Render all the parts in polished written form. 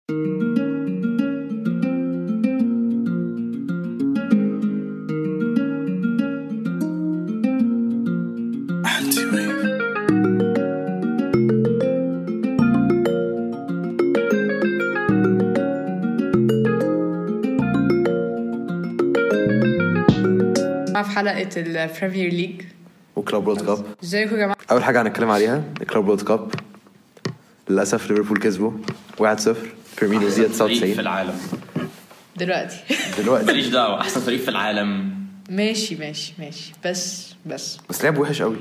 في حلقة البريمير ليج وكلوب وورلد كاب. ازيكم يا جماعة؟ أول حاجة هنتكلم عليها الكلوب وورلد كاب. للأسف ليفربول كسبوا 1-0. فيرمينو زياد 99 في العالم دلوقتي ماليش دعوة. أحسن فريق في العالم. ماشي بس لعب وحش قوي.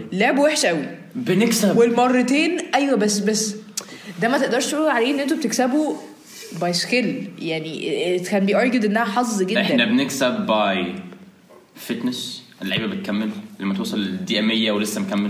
بنكسب والمرتين. أيوة بس ده ما تقدرش تقول عليه إن أنتوا بتكسبوا باي سكيل. يعني كان بيارجد إنها حظ جدا. إحنا بنكسب باي فتنس. اللعيبة بتكمل لما توصل الدقيقة 100 ولسه مكمل.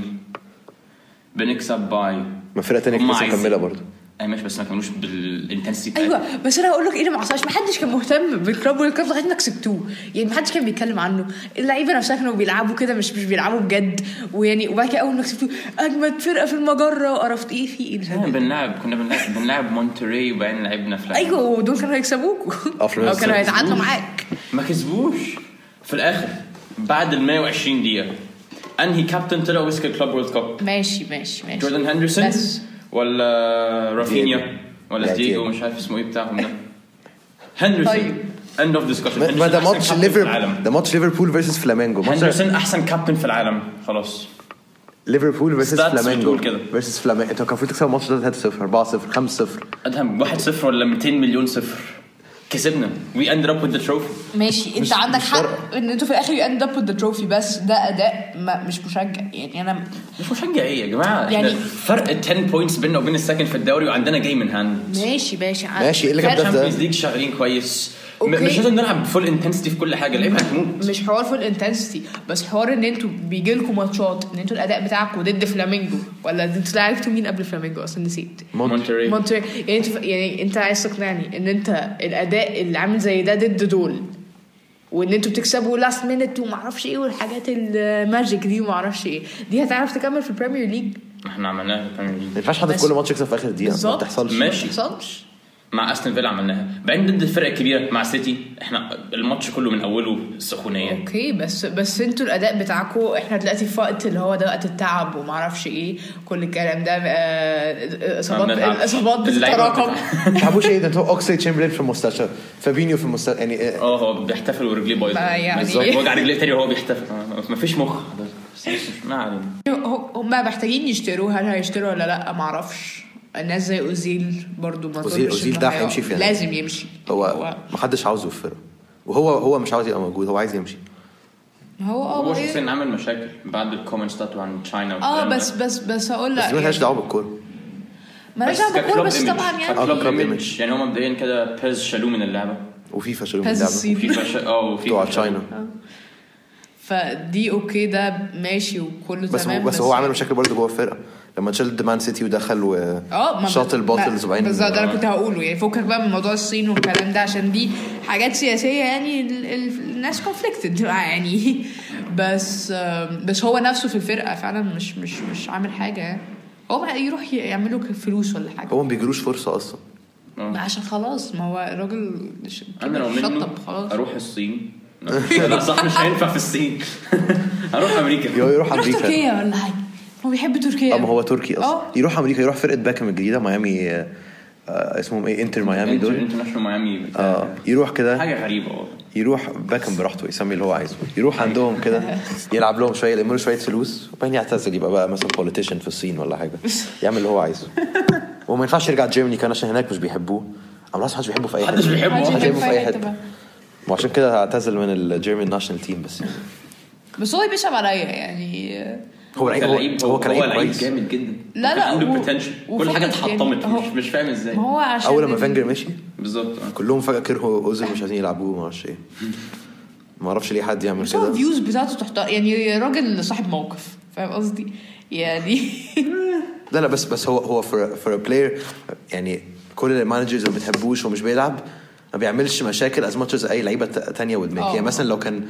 بنكسب باي ما فرقة تانية لسه مكملة برضه. ماشي بس ما كانوش بالانتنسيتي. ايوه بس انا هقول لك ايه اللي ما حصلش. ما حدش كان مهتم بالكلوب والكلوب لغايه ما كسبتوه. يعني ما حدش كان بيتكلم عنه. اللعيبه نفسها كانوا بيلعبوا كده مش بيلعبوا بجد. ويعني وبعد كده اول ما كسبتوه اجمد فرقه في المجره وقرفت ايه في ايه. كنا بنلعب مونتري وبعدين لعبنا في ايوه ودول كانوا هيكسبوكوا او كانوا هيتعادلوا معاك. ما كسبوش في الاخر بعد ال 120 دقيقه. انهي كابتن طلع ويسك الكلوب وورلد كاب؟ ماشي جوردن هندرسون ولا رافينيا ولا دييغو مش عارف اسمه ايه بتاعهم ده. هندرسون end of discussion. ما ده ماتش ليفربول. ده ماتش ليفربول فيرسس فلامينجو. هندرسون احسن كابتن في العالم خلاص. ليفربول فيرسس فلامينجو فيرسس فلامينجو. انت كان في تكسب الماتش ده 3-0 4-0 5-0 ادهم 1-0 ولا 200 مليون صفر. كسبنا we ended up with the trophy. ماشي انت عندك حق ان انتوا في الاخر you end up with the trophy. بس ده اداء مش مشجع. يعني انا مش مشجع ايه يا جماعه. يعني فرق 10 بوينتس بيننا وبين السكند في الدوري وعندنا جاي من هاند. ماشي ايه اللي جاب ده؟ الشامبيونز ليج شغالين كويس. مش لازم نلعب فول انتنسيتي في كل حاجه. لعيبه هتموت. مش حوار فول انتنسيتي بس حوار ان انتوا بيجي لكم ماتشات ان انتوا الاداء بتاعكم ضد فلامينجو. ولا انتوا لعبتوا مين قبل فلامينجو اصلا نسيت؟ مونتري. يعني انت عايز تقنعني ان انت الاداء اللي عامل زي ده ضد دول وان انتوا بتكسبوا لاست مينت وما اعرفش ايه والحاجات الماجيك دي وما اعرفش ايه دي هتعرف تكمل في البريمير ليج؟ احنا عملناها في البريمير ليج. ما ينفعش حد في كل ماتش يكسب في اخر دقيقه. ما تحصلش. ماشي مع استون فيلا عملناها. بعدين ضد الفرق الكبيره مع سيتي احنا الماتش كله من اوله سخونيه. اوكي بس انتوا الاداء بتاعكم احنا دلوقتي في وقت اللي هو ده وقت التعب وما اعرفش ايه كل الكلام ده. اصابات بتتراكم. ما تعبوش ايه ده. انتوا اوكسلي تشامبرلين في المستشفى فابينيو في المستشفى. يعني هو بيحتفل ورجليه بايظه يعني وجع رجليه تاني وهو بيحتفل. ما فيش مخ. ما علينا. هم محتاجين يشتروا. هل هيشتروا ولا لا ما اعرفش. الناس زي أوزيل برضو ما أوزيل ده هيمشي فيها. لازم يمشي. هو ما حدش عاوزه في الفرقه. وهو مش عاوز يبقى موجود. هو عايز يمشي. هو شخصيا عامل مشاكل بعد الكومنتس بتاعته عن تشاينا. بس هقول لك ما لهاش دعوه بالكوره. ما لهاش دعوه بالكوره بس طبعا يعني هم مبدئيا كده بيز شالوه من اللعبه وفيفا شالوه من اللعبه وفيفا تشاينا. فدي اوكي ده ماشي وكله تمام. بس هو عامل مشاكل برضه جوه الفرقه لما تشيل مان سيتي ودخل وشاط الباطلز وبعدين. بالظبط ده انا كنت هقوله. يعني فكك بقى من موضوع الصين والكلام ده عشان دي حاجات سياسيه. يعني الناس كونفليكتد يعني. بس هو نفسه في الفرقه فعلا مش عامل حاجه. يعني هو يروح يعملوا فلوس ولا حاجه. هو ما بيجروش فرصه اصلا. عشان خلاص ما هو الراجل انا لو منه اروح الصين. لا صح مش هينفع في الصين. هروح امريكا. يروح امريكا تركيا ولا حاجه. هو بيحب تركيا. ما هو تركي اصلا. يروح امريكا. يروح فرقه باكم الجديده ميامي. اسمهم ايه انتر ميامي دول. انترناشونال مايامي. يروح كده حاجه غريبه والله. يروح باكم براحته يسمي اللي هو عايزه. يروح عندهم كده يلعب لهم شويه يلموا شويه فلوس وبعدين يعتزل يبقى بقى مثلا بوليتيشن في الصين ولا حاجه. يعمل اللي هو عايزه. وما ينفعش يرجع جيرماني كان عشان هناك مش بيحبوه. اما محدش بيحبه في اي حته. محدش بيحبه في اي حته. وعشان كده اعتزل من الجيرمان ناشونال تيم. بس هو بيشرب عليا يعني. هو كان لعيب جامد جدا. لا عنده بوتنشال. كل حاجه اتحطمت. مش فاهم ازاي. هو عشان اول لما فانجر مشي بالظبط كلهم فجاه كرهوا اوزيل مش عايزين يلعبوه. ما اعرفش ايه. ما اعرفش ليه حد يعمل كده. الفيوز بتاعته تحت. يعني راجل صاحب موقف. فاهم قصدي يعني. لا بس هو for a player. يعني كل المانجرز اللي بتحبوش ومش بيلعب ما بيعملش مشاكل as much as اي لعيبه تانية ودماغ. يعني مثلا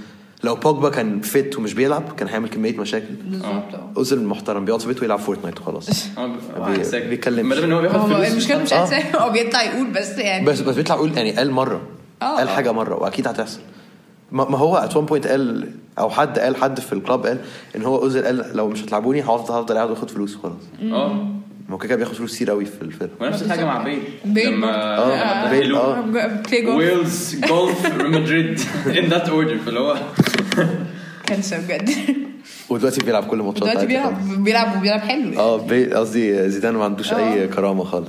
لو بوجبا كان فيت ومش بيلعب كان هيعمل كميه مشاكل بالظبط. اوزيل محترم بيقعد في بيته ويلعب فورتنايت وخلاص. بيتكلم ما دام هو بياخد فلوس المشكله مش عارف هو بيطلع يقول بس يعني بس بيطلع يقول يعني قال مره قال حاجه مره واكيد هتحصل. ما هو ات وان بوينت قال او حد في الكلاب قال ان هو اوزيل قال لو مش هتلعبوني هفضل قاعد واخد فلوس خلاص. ما كده بياخد فلوس كتير قوي في الفرق. ونفس الحاجه مع بيل لما بيل ويلز جولف مدريد ان ذات اوردر فاللي هو كان بجد. ودلوقتي بيلعب كل ماتشات دلوقتي بيلعب حلو يعني. قصدي زيدان ما عندوش اي كرامه خالص.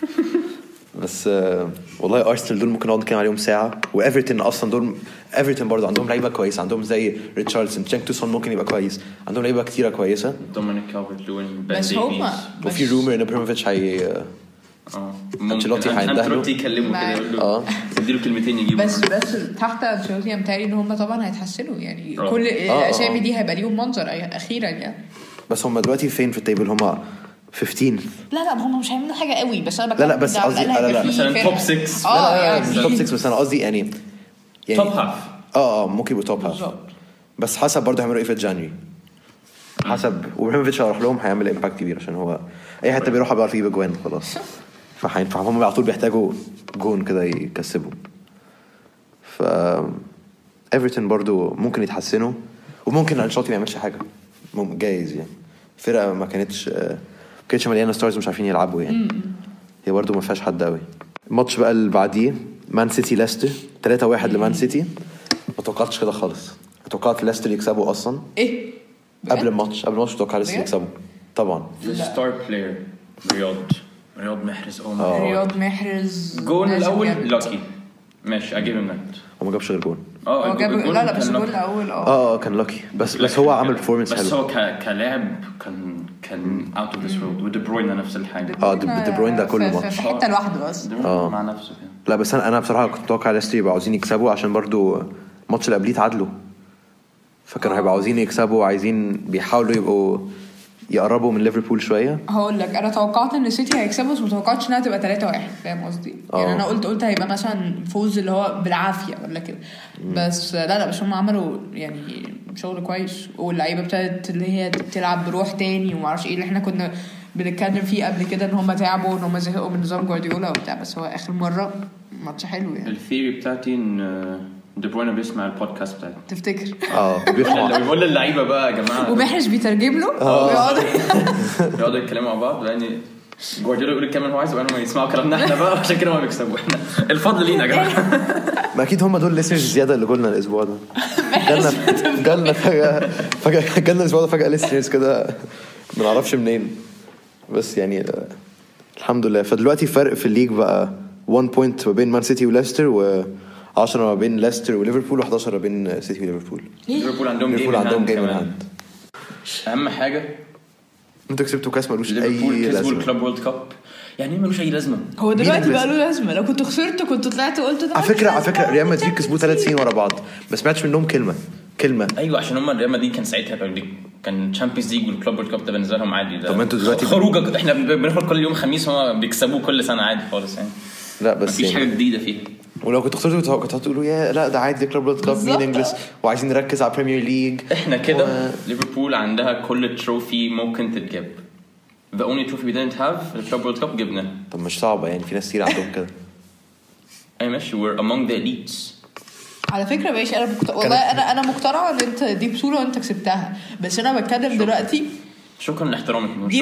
بس والله ارسنال دول ممكن نقعد نتكلم عليهم ساعه. وايفرتون اصلا دول ايفرتون برضه عندهم لعيبه كويسه. عندهم زي ريتشاردسون تشانكتوسون ممكن يبقى كويس. عندهم لعيبه كتيره كويسه. دومينيك كالفرت-لوين بس هما وفي رومر ان ابراهيموفيتش انشيلوتي هيندهله يكلمه كده يقول له اديله كلمتين يجيبه. بس تحت انشيلوتي متهيألي ان هم طبعا هيتحسنوا يعني كل الاسامي دي هيبقى ليهم منظر اخيرا يعني. بس هم دلوقتي فين في التيبل؟ هم 15. لا هم مش هيعملوا حاجه قوي بس انا بتكلم لا بس قصدي لا مثلا توب 6 لا توب 6 بس انا قصدي يعني توب هاف ممكن يبقوا توب هاف بس حسب برضه هيعملوا ايه في جانوري حسب. وابراهيموفيتش هيروح لهم هيعمل امباكت كبير عشان هو اي حته بيروح بيعرف يجيب جوان خلاص. فهم على طول بيحتاجوا جون كده يكسبوا. ف ايفرتون برضو ممكن يتحسنوا وممكن انشيلوتي ما يعملش حاجه جايز يعني. فرقه ما كانتش مليانه ستارز مش عارفين يلعبوا يعني. هي برضو ما فيهاش حد قوي. الماتش بقى اللي بعديه مان سيتي ليستر 3-1 لمان سيتي. ما توقعتش كده خالص. توقعت ليستر يكسبوا اصلا قبل الماتش توقعت ليستر يكسبوا طبعا. ستار بلاير رياض محرز رياض محرز جول الاول لاكي ماشي اجيب النت. هو ما جابش غير جول. لا بس الجول الاول كان لاكي بس هو عمل performance حلو. بس هو كلاعب كان اوت اوف ذس وورلد. ودي بروين نفس الحاجه. دي بروين ده كل ماتش في حته لوحده بس مع نفسه كده. لا بس انا بصراحه كنت متوقع ليستر يبقوا عاوزين يكسبوا عشان برضو الماتش اللي قبليه تعادلوا فكانوا هيبقوا عاوزين يكسبوا وعايزين بيحاولوا يبقوا يقربوا من ليفربول شويه. هقول لك انا توقعت ان السيتي هيكسبوا بس ما توقعتش انها تبقى 3-1 فاهم قصدي يعني. انا قلت هيبقى مثلا فوز اللي هو بالعافيه ولا كده بس لا بس هم عملوا يعني شغل كويس واللعيبه ابتدت اللي هي تلعب بروح تاني وما اعرفش ايه اللي احنا كنا بنتكلم فيه قبل كده ان هم تعبوا وان هم زهقوا من نظام جوارديولا وبتاع. بس هو اخر مره ماتش حلو يعني. الثيري بتاعتي ان دي بروين بيسمع البودكاست بتاعي تفتكر بيقول للعيبه بقى يا جماعه ومحرز بيترجم له يقعدوا يتكلموا مع بعض لان جوارديولا يقول الكلام اللي هو عايزه وانا يسمعوا كلامنا احنا بقى عشان كده ما بيكسبوا. احنا الفضل لينا يا جماعه. ما اكيد هم دول ليسنرز زياده اللي قلنا الاسبوع ده. جالنا فجاه جالنا الاسبوع ده فجاه ليسنرز كده ما نعرفش منين بس يعني الحمد لله. فدلوقتي فرق في الليج بقى 1 بوينت ما بين مان سيتي وليستر و10 ما بين ليستر وليفربول و11 ما بين سيتي وليفربول. ليفربول عندهم جيم هاند. اهم حاجه انتوا كسبتوا كاس ملوش اي لازمه. لازمه. الكلوب وورلد كاب يعني ملوش اي لازمه. هو دلوقتي بقى له لازمه. لو كنت خسرت كنت طلعت وقلت ده على فكره ريال مدريد كسبوا 3 سنين ورا بعض ما سمعتش منهم كلمه. ايوه عشان هم ريال مدريد كان ساعتها كان تشامبيونز ليج والكلوب وورلد كاب ده بالنسبه لهم عادي. ده طب انتوا دلوقتي خروجه احنا بناخد كل يوم خميس هم بيكسبوه كل سنه عادي خالص يعني. لا بس مفيش حاجه جديده فيها. ولو كنت خسرتوا كنت هتقولوا يا لا ده عادي كلوب وورلد كاب مين انجلش وعايزين نركز على بريمير ليج. احنا كده ليفربول عندها كل تروفي ممكن تتجاب. The only trophy we didn't have the Club World Cup جبنا. طب مش صعبة يعني في ناس كتير عندهم كده. أي ماشي we're among the elites. على فكرة ماشي والله أنا مقتنعة إن أنت دي بطولة وأنت كسبتها بس أنا بتكلم دلوقتي. شكرا لاحترامك. دي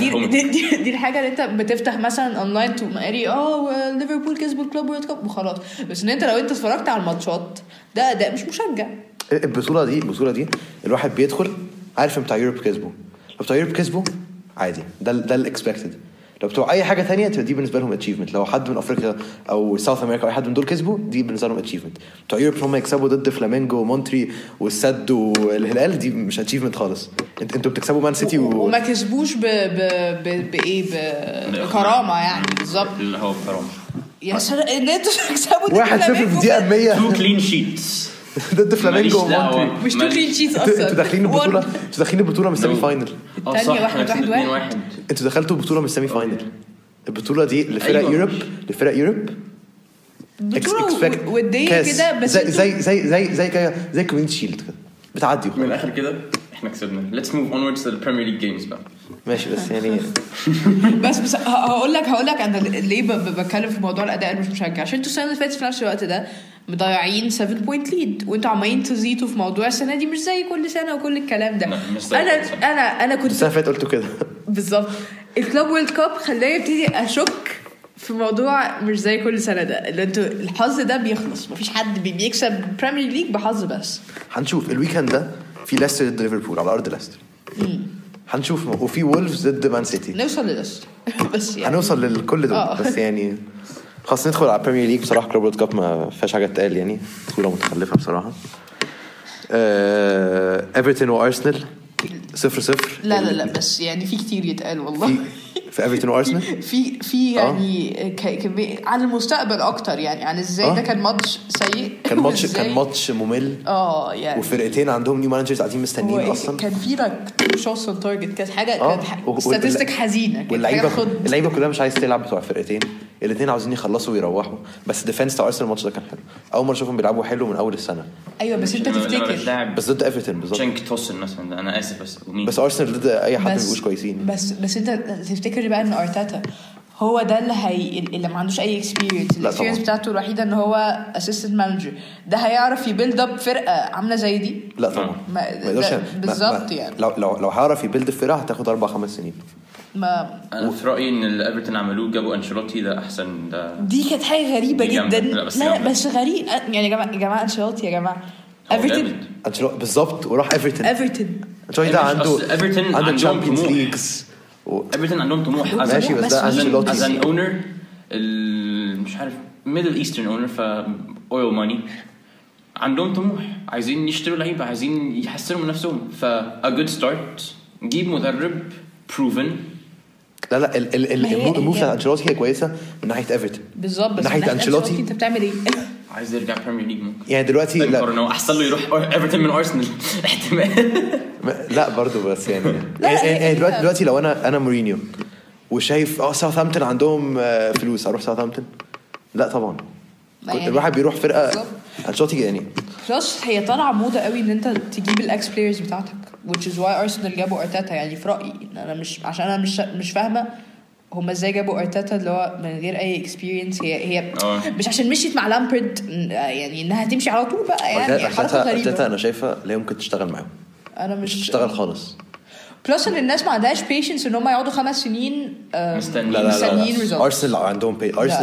الحاجة اللي أنت بتفتح مثلا أونلاين تقري ليفربول كسبوا الكلوب وورلد كاب وخلاص. بس إن أنت لو أنت اتفرجت على الماتشات ده أداء مش مشجع. البطولة دي الواحد بيدخل عارف بتاع يوروب كسبوا. لو بتاع يوروب كسبوا عادي ده الاكسبكتد. لو بتوع اي حاجه تانية دي بالنسبه لهم اتشيفمنت. لو حد من افريقيا او ساوث امريكا او اي حد من دول كسبوا دي بالنسبه لهم اتشيفمنت. بتوع يوروب هم يكسبوا ضد فلامينجو ومونتري والسد والهلال دي مش اتشيفمنت خالص. انتوا بتكسبوا مان سيتي وما كسبوش بايه بكرامه يعني بالظبط اللي هو كرامه يا سلام ان انتوا تكسبوا 1-0 في الدقيقه 100 2 كلين شيتس ضد فلامينجو ومونتري. مش 2 كلين شيتس اصلا. انتوا داخلين البطوله من السيمي فاينل. الثانيه 1-1. انتوا دخلتوا البطوله من السيمي فاينل. البطوله دي لفرق يوروب بطوله وديه كده بس زي كوميونتي شيلد كده بتعدي من الاخر كده احنا كسبنا. let's move onwards to the Premier League games بقى. ماشي بس يعني بس هقول لك انا ليه بتكلم في موضوع الاداء مش مشجع. عشان انتوا السنه اللي فاتت في نفس الوقت ده مضيعين 7 بوينت ليد وانتوا عمالين تزيدوا في موضوع السنه دي مش زي كل سنه وكل الكلام ده. انا كنت السنه اللي فاتت قلت كده بالظبط. الكلوب وورلد كاب خلاني ابتدي اشك في موضوع مش زي كل سنه ده اللي انتوا الحظ ده بيخلص. مفيش حد بيكسب بريمير ليج بحظ بس. هنشوف الويكند ده في ليستر ضد ليفربول على ارض ليستر. هنشوف. وفي وولفز ضد مان سيتي. نوصل لليستر بس يعني هنوصل لكل دول بس يعني خلاص ندخل على البريمير ليج. بصراحه كلوب وورلد كاب ما فيهاش حاجه تقال يعني صوره متخلفه بصراحه. ايفرتون وارسنال 0-0. لا بس يعني في كتير يتقال والله في ايفرتون وارسنال في يعني عن المستقبل اكتر يعني عن ازاي ده كان ماتش سيء. كان ماتش ممل يعني وفرقتين عندهم نيو مانجرز قاعدين مستنيين اصلا. كان في لك شوتس اون تارجت كانت حاجه ستاتستيك حزينه. واللعيبه كلها مش عايز تلعب بتوع الفرقتين الاثنين عاوزين يخلصوا ويروحوا. بس ديفنس بتاع ارسنال الماتش ده كان حلو. اول مره اشوفهم بيلعبوا حلو من اول السنه. ايوه بس انت تفتكر بس ضد ايفرتون بالظبط تشنك توسن مثلا. انا اسف بس ارسنال ضد اي حد مش كويسين. بس انت تفتكر بقى ان ارتيتا هو ده اللي ما عندوش اي اكسبيرينس بتاعته الوحيده ان هو اسيستنت مانجر ده هيعرف يبيلد اب فرقه عامله زي دي؟ لا طبعا ما بالظبط يعني لو هيعرف يبيلد الفرقه هتاخد 4-5 سنين. انا في رايي ان اللي ايفرتون عملوه جابوا انشيلوتي ده احسن. ده دي كانت حاجه غريبه جدا. لا بس غريب يعني يا جماعه انشيلوتي يا جماعه ايفرتون بالظبط وراح ايفرتون انشيلوتي ده عنده تشامبيونز ليجز ايفرتون عندهم طموح. ماشي بس ده انشيلوتي از ان اونر مش عارف ميدل ايسترن اونر اويل ماني عندهم طموح عايزين يشتروا لعيبه عايزين يحسنوا من نفسهم. فا جود ستارت جيب مدرب بروفن. لا الموف بتاع انشيلوتي هي كويسه من ناحيه ايفرتون بالظبط. بس من ناحيه انشيلوتي انت بتعمل ايه؟ عايز يرجع بريمير ليج ممكن يعني دلوقتي لا احسن له يروح ايفرتون من ارسنال احتمال. لا برضو بس يعني دلوقتي لو انا مورينيو وشايف ساوثهامبتون عندهم فلوس اروح ساوثهامبتون؟ لا طبعا يعني الواحد بيروح فرقه انشيلوتي يعني. بلس هي طالعه موضه قوي ان انت تجيب الاكس بلايرز بتاعتك which is why ارسنال جابوا ارتيتا. يعني في رايي انا مش فاهمه هم ازاي جابوا ارتيتا اللي هو من غير اي اكسبيرينس. هي مش عشان مشيت مع لامبرد يعني انها تمشي على طول بقى يعني حركه غريبه. ارتيتا انا شايفه لا يمكن تشتغل معاهم. انا مش تشتغل خالص. بلس ان الناس ما عندهاش بيشنس ان هم يقعدوا 5 سنين مستنيين ريزلت. ارسنال عندهم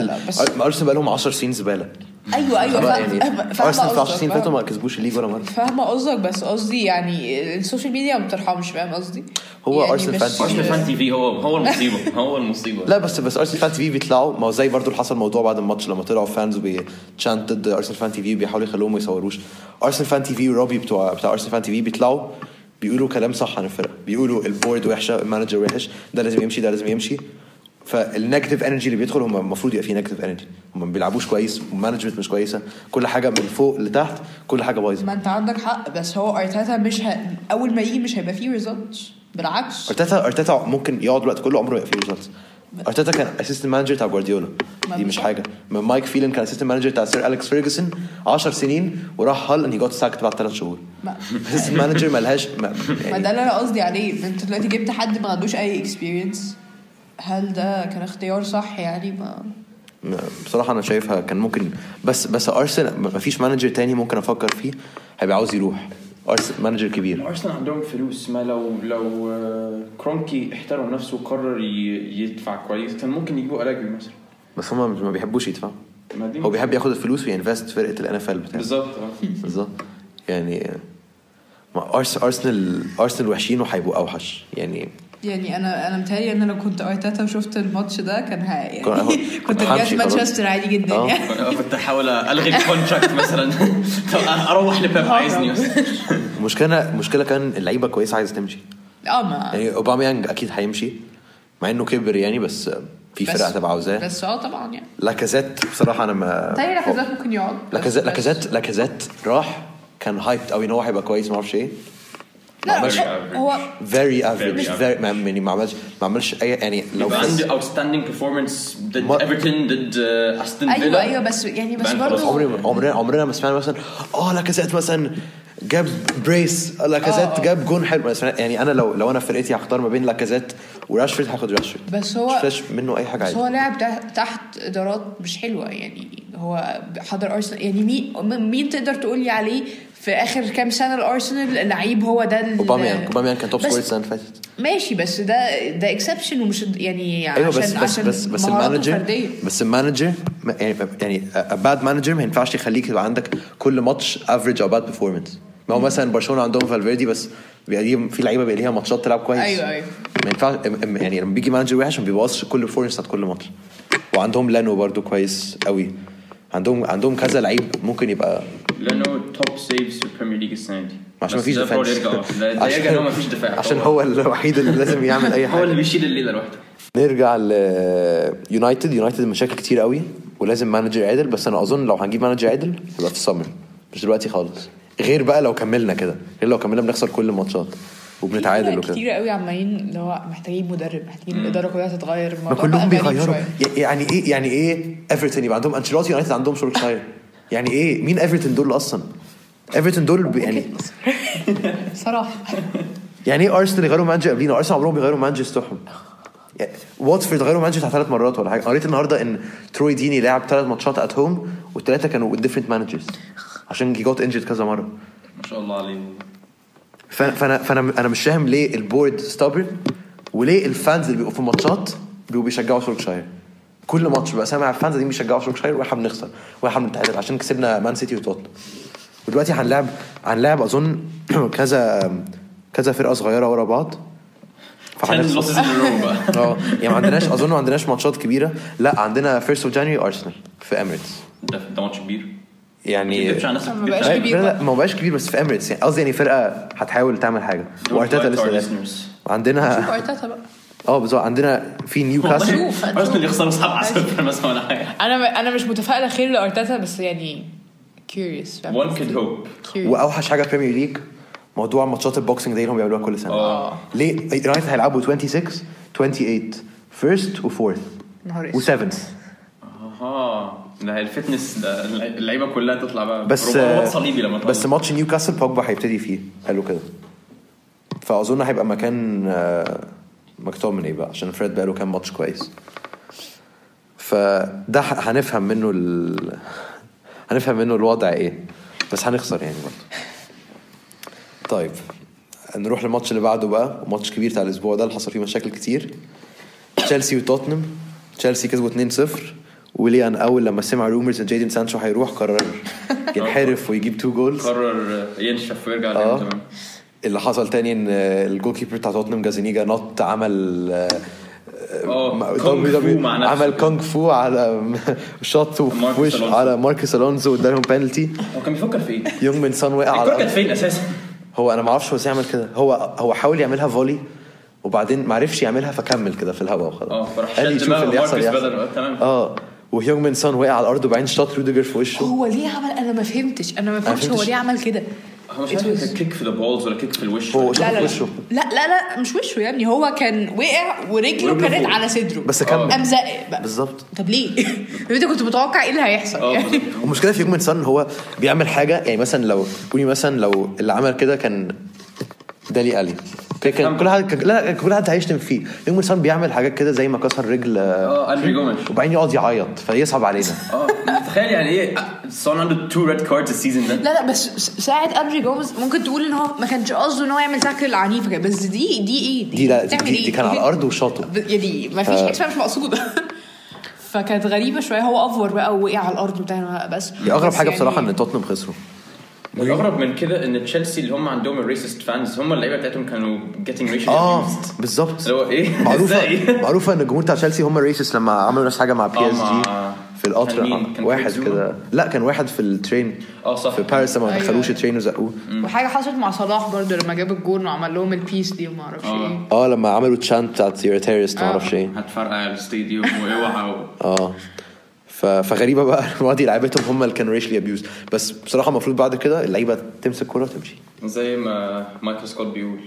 ارسنال بقى لهم 10 سنين زباله. ايوه ارسنال في 10 سنين فاتوا ما كسبوش الليج ولا مره. فاهمه قصدك بس قصدي يعني السوشيال ميديا ما بترحمش. فاهم قصدي؟ هو يعني ارسنال فان تي في هو المصيبه لا بس ارسنال فان تي في بيطلعوا ما هو زي برضو اللي حصل موضوع بعد الماتش لما طلعوا فانز وبيتشانت ضد ارسنال فان تي في بيحاولوا يخلوهم ما يصوروش. ارسنال فان تي في وروبي بتاع ارسنال فان تي في بيطلعوا بيقولوا كلام صح عن الفرقه. بيقولوا البورد وحشه المانجر وحش ده لازم يمشي فالنيجاتيف انرجي اللي بيدخل هم المفروض يبقى فيه نيجاتيف انرجي. هم ما بيلعبوش كويس والمانجمنت مش كويسه كل حاجه من فوق لتحت كل حاجه بايظه. ما انت عندك حق بس هو ارتيتا مش اول ما يجي مش هيبقى فيه ريزلتس. بالعكس ارتيتا ممكن يقعد الوقت كله عمره يبقى فيه ريزلتس. ارتيتا كان اسيستنت مانجر بتاع جوارديولا دي مش حاجه. مايك فيلن كان اسيستنت مانجر بتاع سير أليكس فيرجسون 10 سنين وراح هال ان جوت ساكت بعد 3 شهور. اسيستنت مانجر مالهاش ما ده اللي انا قصدي عليه. انت دلوقتي جبت حد ما عندوش اي اكسبيرينس. هل ده كان اختيار صح يعني؟ ما بصراحه انا شايفها كان ممكن بس ارسنال ما فيش مانجر تاني ممكن افكر فيه هيبقى عاوز يروح. ارسنال مانجر كبير. ارسنال عندهم فلوس. ما لو كرونكي احترم نفسه وقرر يدفع كويس كان ممكن يجيبوا ألاجري مثلا. بس هم ما بيحبوش يدفعوا. هو بيحب ياخد الفلوس وينفست فرقه الNFL بتاعه بالظبط يعني. ما ارسنال وحشين وهيبقوا اوحش يعني انا متهيألي ان انا كنت ارتيتا وشفت الماتش ده كان يعني كنت رجعت مانشستر عادي جدا يعني كنت احاول الغي الكونتراكت مثلا اروح لبيب عايزني. مشكله كان اللعيبه كويسه عايزه تمشي. يعني اوباميانج اكيد هيمشي مع انه كبر يعني بس في فرقه هتبقى عاوزاه. بس طبعا يعني لاكازيت بصراحه انا ما لاكازيت ممكن يقعد. لاكازيت راح كان هايبت قوي ان هو هيبقى كويس ما اعرفش ايه. لا هو very average يعني ما عملش اي يعني لو عنده outstanding performance ضد ايفرتون ضد استون فيلا. ايوه بس برضه عمرنا ما سمعنا مثلا لاكازيت مثلا جاب بريس لاكازيت جاب جون حلو يعني انا لو انا فرقتي هختار ما بين لاكازيت وراشفورد هاخد راشفورد بس هو مش منه اي حاجه بس هو لاعب تحت ادارات مش حلوه يعني هو حضر ارسنال يعني مين تقدر تقول لي عليه في اخر كام سنه الارسنال لعيب هو ده اوباميان كان توب سكورر السنه اللي فاتت ماشي بس ده اكسبشن ومش يعني أيوة عشان بس المانجر يعني باد مانجر ما ينفعش يخليك يبقى عندك كل ماتش افريج او باد بيرفورمانس ما هو مثلا برشلونه عندهم فالفيردي بس بيبقى في لعيبه بيبقى ليها ماتشات تلعب كويس ايوه ما ينفعش يعني لما بيجي مانجر وحش ما بيبوظش كل البرفورمانس بتاعت كل ماتش وعندهم لانو برضو كويس قوي عندهم كذا لعيب ممكن يبقى لانو توب سيفز في البريمير ليج السنه دي عشان ما فيش دفاع عشان هو ما فيش دفاع عشان هو الوحيد اللي لازم يعمل اي حاجه هو اللي بيشيل الليله لوحده. نرجع ليونايتد مشاكل كتير قوي ولازم مانجر عادل بس انا اظن لو هنجيب مانجر عادل يبقى في السمر مش دلوقتي خالص غير بقى لو كملنا كده غير لو كملنا بنخسر كل الماتشات وبنتعادل وكده كتير قوي عمالين اللي هو محتاجين مدرب محتاجين الاداره كلها تتغير ما كلهم بيغيروا يعني ايه ايفرتون يبقى عندهم انشيلوتي يونايتد عندهم سولشاير يعني ايه مين ايفرتون دول اصلا ايفرتون دول يعني صراحه يعني ايه ارسنال يغيروا مانجر قبلينا ارسنال عمرهم بيغيروا مانجر بتوعهم واتفورد غيروا مانجر 3 مرات ولا حاجه قريت النهارده ان تروي ديني لعب 3 ماتشات ات هوم والثلاثه كانوا ديفرنت مانجرز عشان جوت انجرد كذا مره ما شاء الله عليه. فانا مش فاهم ليه البورد ستابرن وليه الفانز اللي بيبقوا في الماتشات بيشجعوا سولشاير كل ماتش بقى سامع الفانز دي بيشجعوا سولشاير واحنا بنخسر واحنا بنتعادل عشان كسبنا مان سيتي وتوتنهام ودلوقتي هنلعب اظن كذا فرقه صغيره ورا بعض يعني ما عندناش ماتشات كبيره لا عندنا فيرست اوف جانوري ارسنال في اميريتس ده ماتش كبير يعني ما بقاش كبير بس في اميريتس يعني قصدي يعني فرقه هتحاول تعمل حاجه وارتيتا لسه عندنا ارتيتا بقى بالظبط عندنا في نيوكاسل ارسنال يخسروا 7-0 مثلا ولا حاجه انا مش متفائله خير لارتيتا بس يعني curious one could hope واوحش حاجه بريمير ليج موضوع ماتشات البوكسينج دي اللي هم بيعملوها كل سنه ليه يونايتد هيلعبوا 26 28 فيرست وفورث وسيفنث ده الفتنس ده اللعيبه كلها تطلع بقى صليبي لما بس ماتش نيوكاسل بوجبا هيبتدي فيه حلو كده فاظن هيبقى مكان مكتوب من ايه بقى عشان فريد بقى له كام ماتش كويس فده هنفهم منه الوضع ايه بس هنخسر يعني برضه. طيب نروح للماتش اللي بعده بقى ماتش كبير بتاع الاسبوع ده اللي حصل فيه مشاكل كتير تشيلسي وتوتنهام تشيلسي كسبوا 2-0 وليان اول لما سمع رومرز ان جيدن سانشو هيروح قرر ينحرف ويجيب 2 جولز قرر ينشف ويرجع تمام اللي حصل تاني ان الجول كيبر بتاع توتنهام جازينيجا نط عمل عمل كونغ فو على شوت وش على ماركوس الونزو وادالهم بينالتي هو كان بيفكر في ايه يونغ من سان وقع على كان فين اساسا هو انا ما اعرفش هو ازاي يعمل كده هو حاول يعملها فولي وبعدين ما عرفش يعملها فكمل كده في الهواء وخلاص قال يشوف اللي يحصل تمام وهيونغ من سان وقع على الارض وبعدين شاط روديجر في وشه هو ليه عمل انا ما فهمتش هو ليه عمل كده هو مش عارف كيك في البولز ولا كيك في الوش لا مش وشه يعني هو كان وقع ورجله كانت على صدره بس كمل قام زق بقى بالظبط طب ليه انت كنت متوقع ايه اللي هيحصل يعني المشكله في يوم سان هو بيعمل حاجه يعني مثلا لو اللي عمل كده كان دالي ألي كان كل حد هيشتم فيه يوم سان بيعمل حاجات كده زي ما كسر رجل أندري جوميز وبعدين يقعد يعيط فيصعب علينا تخيل يعني ايه سون عنده 2 ريد كاردز السيزون ده لا بس ساعه أندري جوميز ممكن تقول ان هو ما كانش قصده ان هو يعمل تاكل عنيف بس دي كان على الارض وشاطه دي ما فيش حاجه مش مقصوده فكانت غريبه شويه هو افور بقى ووقع على الارض بتاعنا بس اغرب حاجه يعني بصراحه ان توتنهام خسروا الأغرب من كده إن تشيلسي اللي هم عندهم الريسست فانز هم اللعيبة بتاعتهم كانوا getting racially abused بالظبط اللي هو إيه معروفة إن الجمهور بتاع تشيلسي هم الريسست لما عملوا نفس حاجة مع بي اس جي في القطر واحد كده لا كان واحد في الترين في باريس ما دخلوش الترين وزقوه وحاجة حصلت مع صلاح برضو لما جاب الجول وعمل لهم البيس دي وما اعرفش ايه لما عملوا تشانت بتاعت يور تيرست ما اعرفش ايه هتفرقع الاستاديوم واوعى فغريبه بقى المواضيع لعيبتهم هم اللي كانوا ريشلي ابيوز بس بصراحه المفروض بعد كده اللعيبه تمسك كوره وتمشي زي ما مايكل سكوت بيقول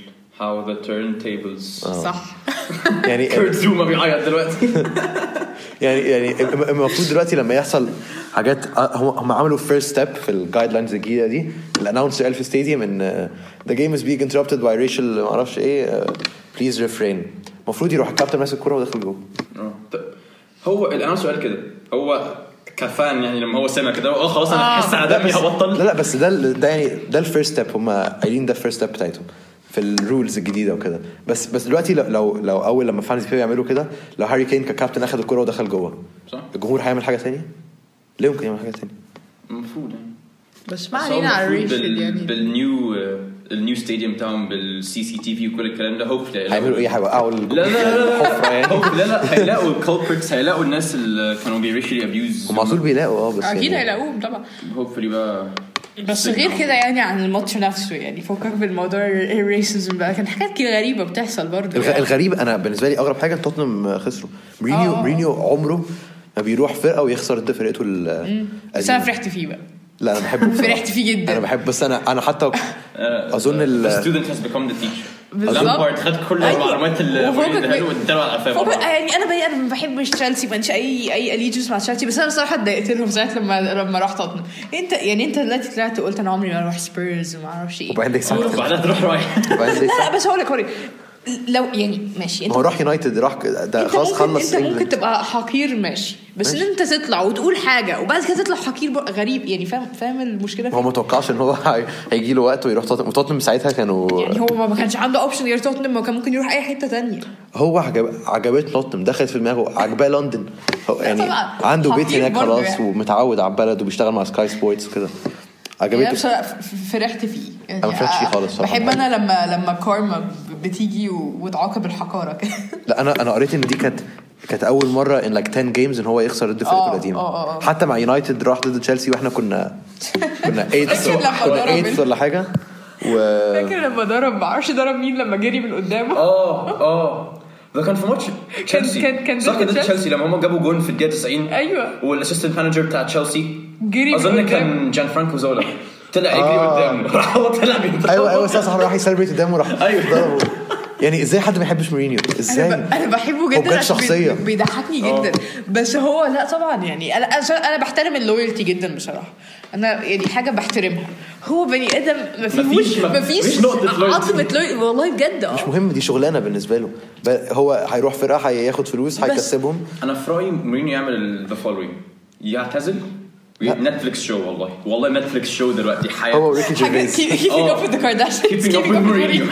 how the turntables صح. يعني كيرت زوما بيعيط دلوقتي. يعني المفروض دلوقتي لما يحصل حاجات هم عملوا first step في الجايد لاينز الجديده دي. الاناونسر قال في ستاديوم ان the game is being interrupted by racial ما اعرفش ايه please refrain. المفروض يروح الكابتن ماسك الكوره ودخل جوه. هو الاناونسر قال كده. هو كفان يعني لما هو سمع كده خلاص انا هحس على دمي هبطل. لا بس ده يعني ده الفيرست ستيب. هم قايلين ده الفيرست ستيب بتاعتهم في الرولز الجديده وكده. بس دلوقتي لو اول لما فانز بيعملوا كده لو هاري كين ككابتن اخذ الكره ودخل جوه صح الجمهور هيعمل حاجه ثانيه. ليه ممكن يعمل حاجه ثانيه المفروض يعني. بس ما علينا على الريشل يعني النيو ستاديوم بتاعهم بالسي سي تي في وكل الكلام ده. هوب هيعملوا ايه هيوقعوا لا هيلاقوا الكولبريتس هيلاقوا الناس اللي كانوا بيريشلي ابيوز هم على طول بيلاقوا بس اكيد هيلاقوهم طبعا. هوبفلي بقى. بس غير كده يعني عن الماتش نفسه يعني فكك بالموضوع الريسيزم بقى كان حاجات كده غريبه بتحصل برضه يعني. الغريب انا بالنسبه لي اغرب حاجه توتنهام خسروا. مورينيو عمره ما بيروح فرقه ويخسر ضد فرقته بس انا فرحت فيه بقى. لا انا بحبه فرحت فيه جدا. انا بحب بس انا حتى اظن الستودنت هاز بيكم ذا تيتشر. لامبارد خد كل المعلومات اللي يعني انا ما بحبش تشيلسي ما عنديش اي اليجنس مع تشيلسي. بس انا بصراحه اتضايقت لهم ساعه لما رحت توتنهام. انت دلوقتي طلعت قلت انا عمري ما اروح سبيرز وما اعرفش ايه وبعدين تروح رايح. لا بس هقول لك لو يعني ماشي هو راح يونايتد راح ده خلاص خلص. انت ممكن تبقى حقير ماشي بس ان انت تطلع وتقول حاجه وبعد كده تطلع حقير غريب يعني. فاهم المشكله هو ما توقعش ان هو هيجي له وقت ويروح توتنهام. ساعتها كانوا يعني هو ما كانش عنده اوبشن غير توتنهام. ما كان ممكن يروح اي حته تانية. هو عجبت توتنهام دخلت في دماغه عجباه لندن يعني عنده بيت هناك خلاص يعني. ومتعود على البلد وبيشتغل مع سكاي سبورتس وكده عجبته. فرحت فيه يعني. انا ما فرحتش فيه خالص بحب انا لما كارما بتيجي وتعاقب الحقاره كده. لا انا قريت ان دي كانت اول مره ان like 10 جيمز ان هو يخسر ضد فرقه قديمه. حتى مع يونايتد راح ضد تشيلسي واحنا كنا 8 ولا حاجه فاكر لما ضرب مين لما جري من قدامه. ده كان في ماتش تشيلسي كان ضد تشيلسي لما هم جابوا جون في الدقيقه 90. ايوه والاسيستنت مانجر بتاع تشيلسي جري اظن كان جان فرانكو زولا طلع يجري قدامه راح هو طلع بيضرب. ايوه صح راح يسلبريت قدامه راح ضربه. يعني ازاي حد ما يحبش مورينيو؟ ازاي انا بحبه جدا شخصيه بيضحكني جدا. بس هو لا طبعا يعني انا بحترم اللويالتي جدا بصراحه. انا يعني حاجه بحترمها. هو بني ادم ما فيش عاطفه والله بجد. مش مهم دي شغلانه بالنسبه له. هو هيروح فرقه هياخد فلوس هيكسبهم. انا في رايي مورينيو يعمل ذا فولوينج يعتزل نتفليكس شو. والله نتفليكس شو دلوقتي حياة هو ريكي جيرفيس keeping up with the Kardashians keeping up with Mourinho.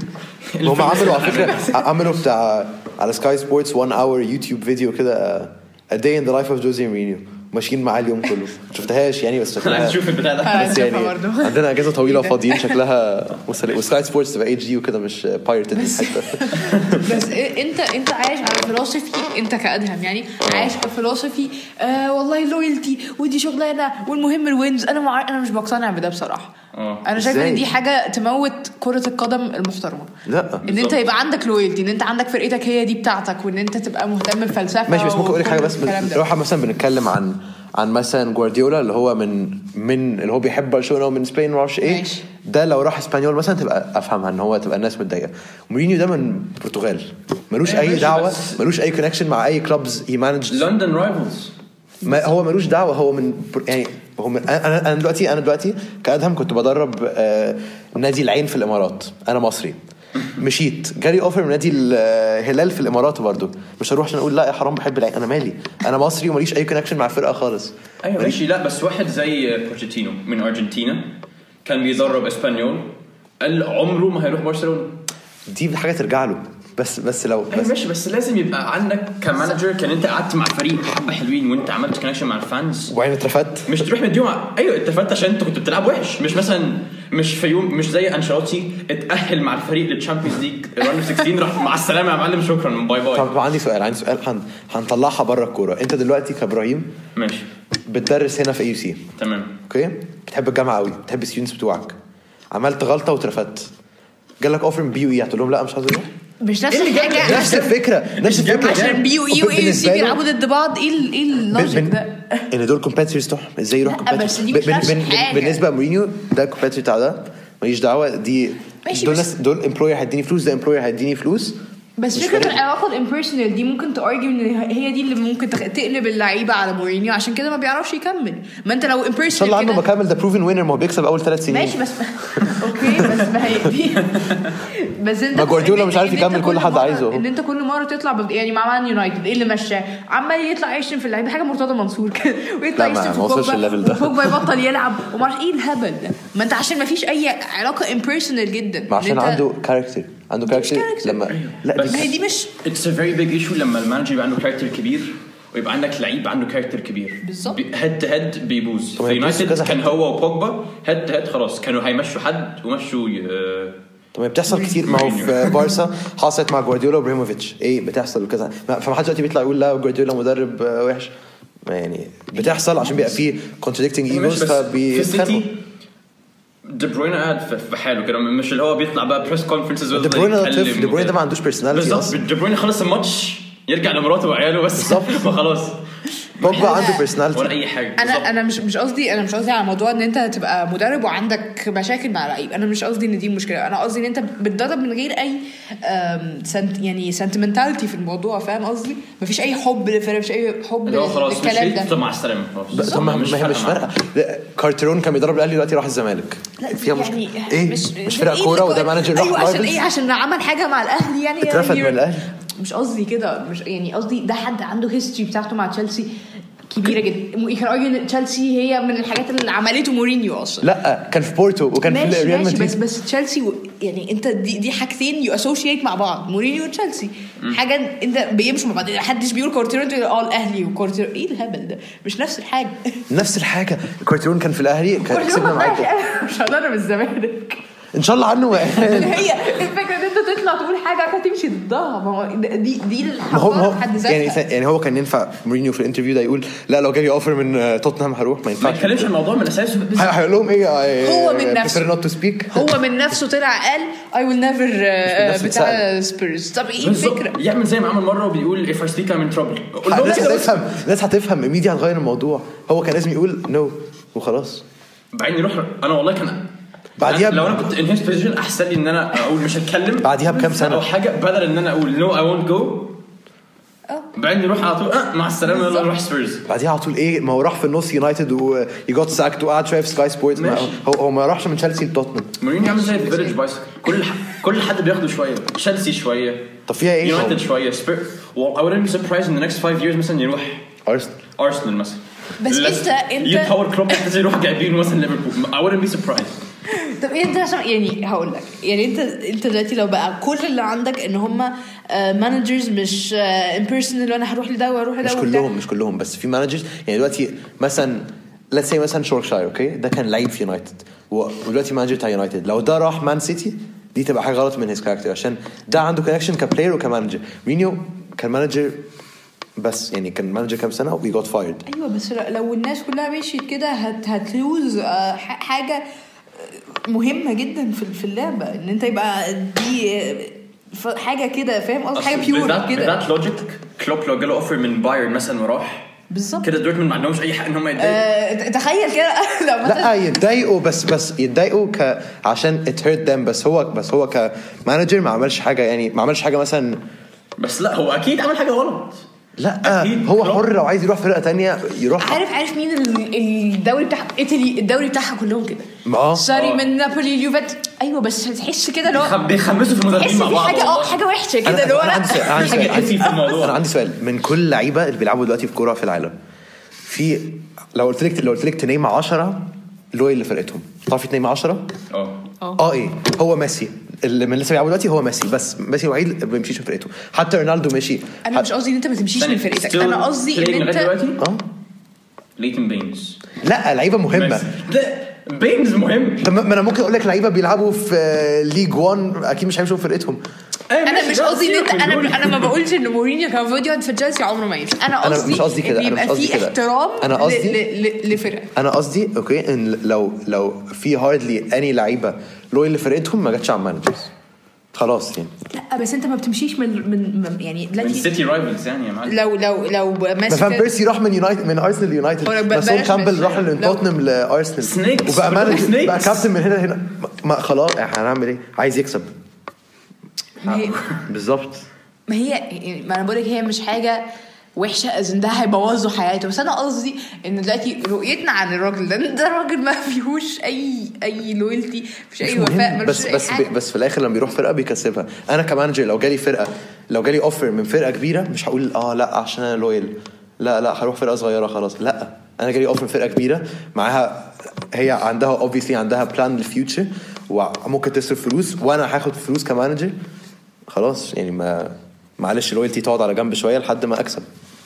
هم عملوا على فكره عملوا بتاع على سكاي سبورتس 1 اور يوتيوب فيديو كده A day in the life of Jose Mourinho ماشيين معاه اليوم كله. شفتهاش يعني بس شكلها نشوف البتاع ده بس يعني عندنا اجازه طويله وفاضيين شكلها وسكاي سبورتس تبقى اتش دي وكده مش بايرتد حتى. بس انت عايش على فلسفي. انت كأدهم يعني عايش على فلسفي والله لويالتي ودي شغلانه والمهم الوينز. انا مش بقتنع بده بصراحه. انا شايف ان دي حاجه تموت كره القدم المحترمه. لا ان انت يبقى عندك لويالتي ان انت عندك فرقتك هي دي بتاعتك وان انت تبقى مهتم بالفلسفه. ماشي بس ممكن اقول لك حاجه بس روح مثلا بنتكلم عن مثلا جوارديولا اللي هو من اللي هو بيحب برشلونه ومن اسبانيا ما اعرفش ايه ماشي. ده لو راح اسبانيول مثلا تبقى افهمها ان هو تبقى الناس متضايقه. مورينيو ده من البرتغال ملوش اي دعوه ملوش اي كونكشن مع اي كلوبز هي مانج لندن رايفلز. هو ملوش دعوه هو من يعني هو من انا دلوقتي كأدهم كنت بدرب نادي العين في الامارات. انا مصري مشيت جالي اوفر من نادي الهلال في الامارات برضو مش هروح عشان اقول لا يا حرام بحب العين. انا مالي انا مصري وماليش اي كونكشن مع الفرقه خالص. ايوه ماشي. لا بس واحد زي بوتشيتينو من ارجنتينا كان بيدرب اسبانيول قال عمره ما هيروح برشلونه. دي حاجه ترجع له بس لو ماشي. بس لازم يبقى عندك كمانجر كان انت قعدت مع فريق حبه حلوين وانت عملت كونكشن مع الفانز وبعدين اترفدت. مش تروح مديهم ايوه اترفدت عشان انت كنت بتلعب وحش. مش مثلا مش في يوم مش زي انشيلوتي اتاهل مع الفريق للتشامبيونز ليج راوند 16 راح مع السلامه يا معلم شكرا باي باي. طب عندي سؤال هنطلعها بره الكوره. انت دلوقتي كابراهيم ماشي بتدرس هنا في اي سي تمام اوكي بتحب الجامعه قوي بتحب الستودنتس بتوعك عملت غلطه واترفدت جالك اوفر من بي هتقول لهم لا مش عايز اروح؟ مش نفس الحاجه نفس الفكره عشان بي واي سي بيلعبوا ضد بعض. ايه اللوجيك ده ان دول كومبيتيتورز تحهم ازاي يروح كومبيتيتور بالنسبه لمورينيو ده الكومبيتيتور بتاع ده ماليش دعوه. دي ماشي دول بس- ناس دول امبلوير هيديني فلوس ده امبلوير هيديني فلوس بس مش فكره فارق. العلاقه الامبيرسونال دي ممكن تارجي ان هي دي اللي ممكن تقلب اللعيبه على مورينيو عشان كده ما بيعرفش يكمل. ما انت لو ان شاء الله امبيرسونال عنه كده بكمل ده بروفن وينر ما هو بيكسب اول 3 سنين ماشي بس اوكي بس ما هي دي بس انت ما جوارديولا مش عارف إن أنت يكمل كل حد مرة- عايزه. ان انت كل مره تطلع يعني مع مان يونايتد ايه اللي مشاه عمال يطلع يشتم في اللعيبه حاجه مرتضى منصور كده ويطلع لا، ما يشتم في وصلش الليفل ده. بوجبا يبطل يلعب وما اعرفش ايه الهبل ده. ما انت عشان ما فيش اي علاقه امبيرسونال جدا ما عشان إن أنت- عنده كاركتر character لما لا بس- ما هي دي مش It's a very big issue لما المانجر يبقى عنده كاركتر كبير ويبقى عندك لعيب عنده كاركتر كبير بالظبط. هيد تو هيد بيبوظ. طب في يبوظ يونايتد كذا كان حد. هو وبوجبا هيد تو هيد خلاص كانوا هيمشوا حد ومشوا طب بتحصل كتير. ما هو في بارسا حصلت مع جوارديولا وابراهيموفيتش ايه بتحصل وكذا. فما حدش دلوقتي بيطلع يقول لا جوارديولا مدرب وحش. يعني بتحصل عشان بيبقى فيه contradicting egos في السيتي فبيتخانقوا. دي بروين قاعد في حاله كده مش اللي هو بيطلع بقى بريس كونفرنسز دي بروين ده طفل. دي بروين ده ما عندوش personality بالظبط. اصلا. دي بروين خلص الماتش يرجع لمراته وعياله بس بالظبط. وخلاص بوجبا عنده ولا personality. اي حاجه. بالظبط. انا مش قصدي على موضوع ان انت تبقى مدرب وعندك مشاكل مع لعيب. انا مش قصدي ان دي مشكله. انا قصدي ان انت بتدرب من غير اي يعني سنتمنتاليتي في الموضوع. فاهم قصدي؟ مفيش اي حب للفريق مفيش اي حب اللي هو خلاص مش للكلام هيك ده. مع السلامه خلاص. طب ما هي مش فارقه. كارترون كان بيدرب الاهلي دلوقتي راح الزمالك. فيها مشكله ايه؟ مش فرقه إيه كوره وده مانجر راح ايوه عشان رايفلز. ايه؟ عشان عمل حاجه مع الاهلي يعني اترفد من الاهلي. مش قصدي كده. مش يعني قصدي ده حد عنده هيستوري بتاعته مع تشيلسي كبيره جدا. كان ان تشيلسي هي من الحاجات اللي عملته مورينيو اصلا. لا كان في بورتو وكان في ماشي ريال ماشي مدريد. بس تشيلسي يعني انت دي حاجتين يو اسوشيت مع بعض. مورينيو وتشيلسي حاجه انت بيمشوا مع بعض. محدش بيقول كورتيرون الاهلي وكورتيرون ايه الهبل ده. مش نفس الحاجه. نفس الحاجه. كارترون كان في الاهلي كان كسبنا معاكم. مش هضرب الزمالك. ان شاء الله عنه. هي الفكره ان انت تطلع تقول حاجه هتمشي ضدها. ما هو دي ما هو الحوار حد ذاتها. يعني هو كان ينفع مورينيو في الانترفيو ده يقول لا لو جالي اوفر من توتنهام هروح. ما ما ينفعش. يتكلمش عن الموضوع من اساسه. هيقول لهم ايه؟ هو من نفسه. prefer not to speak. هو من نفسه طلع قال I will never نفسه بتاع سبيرز. طب ايه الفكره؟ يعمل زي ما عمل مره وبيقول if I speak I'm in trouble. قول لهم الناس كده. هتفهم. الناس هتفهم ميديا هتغير الموضوع. هو كان لازم يقول نو وخلاص. بعدين يروح. انا والله كان بعديها لو انا كنت in his position احسن لي ان انا اقول مش هتكلم بعديها بكام سنة. او حاجه بدل ان انا اقول no I won't go. بعدين يروح على طول مع السلامه يلا نروح سبيرز. بعديها على طول ايه؟ ما هو راح في النص يونايتد ويجوت ساكت وقعد شويه في سكاي سبورتس. هو ما راحش من تشيلسي لتوتنهام. مورينيو يعمل زي الفيلج بايسكل. كل حد بياخده شويه. تشيلسي شويه طب فيها ايه؟ يونايتد شويه I wouldn't be surprised in the next 5 years مثلا يروح ارسنال مثلا. بس انت يتطور كلوب مثلا يروح جايبينه مثلا ليفربول. I wouldn't be surprised. طب انت عشان يعني هقول لك يعني انت دلوقتي لو بقى كل اللي عندك ان هم مانجرز مش امبيرسونال وانا هروح لده واروح لده مش كلهم بس في مانجرز. يعني دلوقتي مثلا let's say مثلا شوركشاير اوكي ده كان لعيب في يونايتد ودلوقتي مانجر بتاع يونايتد. لو ده راح مان سيتي دي تبقى حاجه غلط من هيز كاركتر عشان ده عنده كونكشن كبلاير وكمانجر. مورينيو كان مانجر بس يعني كان مانجر كام سنه وي جوت فايرد. ايوه بس لو الناس كلها مشيت كده هتلوز حاجه مهمه جدا في اللعبه ان انت يبقى دي حاجه كده. فاهم قصدي؟ حاجه بيور كده. ذات لوجيك كلوب لو جاله اوفر من بايرن مثلا وراح بالظبط كده دورتموند ما عندهمش اي حق ان هم يتضايقوا. تخيل كده لو لا يتضايقوا بس يتضايقوا عشان it hurt them. بس هو كمانجر ما عملش حاجه. يعني ما عملش حاجه مثلا. بس لا هو اكيد عمل حاجه غلط. لا أكيد هو كلوب. حر لو عايز يروح فرقه تانية يروح. عارف مين الدوري بتاع ايطالي؟ الدوري بتاعها كلهم كده ساري من نابولي اليوفنتوس. ايوه بس هتحس كده لو بيخمسوا في المدربين مع بعض. حاجه وحشه كده اللي هو انا عندي سؤال من كل لعيبه اللي بيلعبوا دلوقتي في كوره في العالم. في لو قلت لك تنيم 10 اللي فرقتهم تعرفي تنيم 10 ايه هو ميسي اللي من لسه بيلعبوا دلوقتي. هو ميسي بس ميسي الوحيد اللي ما بيمشيش من فرقته. حتى رونالدو مشي. انا مش قصدي ان انت ما تمشيش من فرقتك. انا قصدي ان انت ليتن بينز لا لعيبه مهمه. بينز مهم. ما انا ممكن اقول لك لعيبه بيلعبوا في ليج 1 اكيد مش هيمشوا في فرقتهم. انا مش قصدي ان انت انا ما بقولش ان مورينيو كان فيديو في تشيلسي عمره ما يمشي. انا قصدي كده. يبقى في احترام لفرقه. انا قصدي اوكي ان لو في هاردلي اني لعيبه لويال لفرقتهم ما جاتش على مانجرز خلاص يعني. لا بس انت ما بتمشيش من يعني من سيتي رايفلز يعني يا معلم. لو مثلا بيرسي راح من يونايتد من ارسنال ليونايتد. سول كامبل راح من توتنهام لارسنال وبقى مانجر بقى كابتن من هنا ما خلاص هنعمل ايه؟ عايز يكسب بالظبط. ما انا بقولك هي مش حاجه وحشه ان ده هيبوظوا حياته، بس انا قصدي ان دلوقتي رؤيتنا عن الراجل ده راجل ما فيهوش اي لويالتي، مش اي وفاء، بس في الاخر لما بيروح فرقه بيكسبها. انا كمانجر لو جالي اوفر من فرقه كبيره مش هقول لا عشان انا لويال، لا هروح فرقه صغيره خلاص. لا انا جالي اوفر من فرقه كبيره معاها، هي عندها obviously عندها بلان للفيوتشر وممكن تصرف فلوس وانا هاخد فلوس كمانجر، خلاص يعني ما معلش لويالتي تقعد على جنب شويه لحد ما اكسب.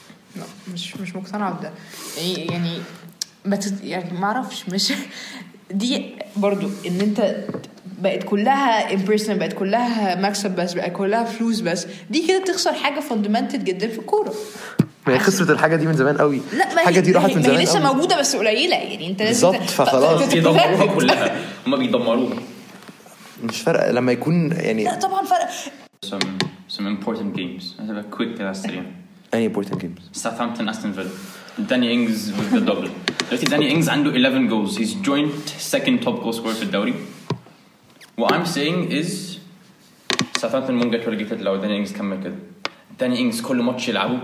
مش مقتنعه بده يعني يعني ما اعرفش، مش دي برضو ان انت بقت كلها امبرسونال، بقت كلها مكسب بس، بقت كلها فلوس بس، دي كده تخسر حاجه فاندمنتال جدا في الكوره. ما هي خسرت الحاجه دي من زمان قوي. لا الحاجه دي راحت من زمان قوي، لسه قوي. موجوده بس قليله يعني. انت بالظبط، فخلاص بيدمروها كلها، هم بيدمروها. مش فارقه لما يكون يعني. لا طبعا فرق. some important games. هذا quick كده سريع. any important games. Southampton Aston Villa. Danny Ings with the double. دلوقتي Danny Ings عنده 11 goals. He's joint second top goal scorer في الدوري. What I'm saying is Southampton won't get relegated لو Danny Ings كمل كده. Danny Ings كل ماتش يلعبه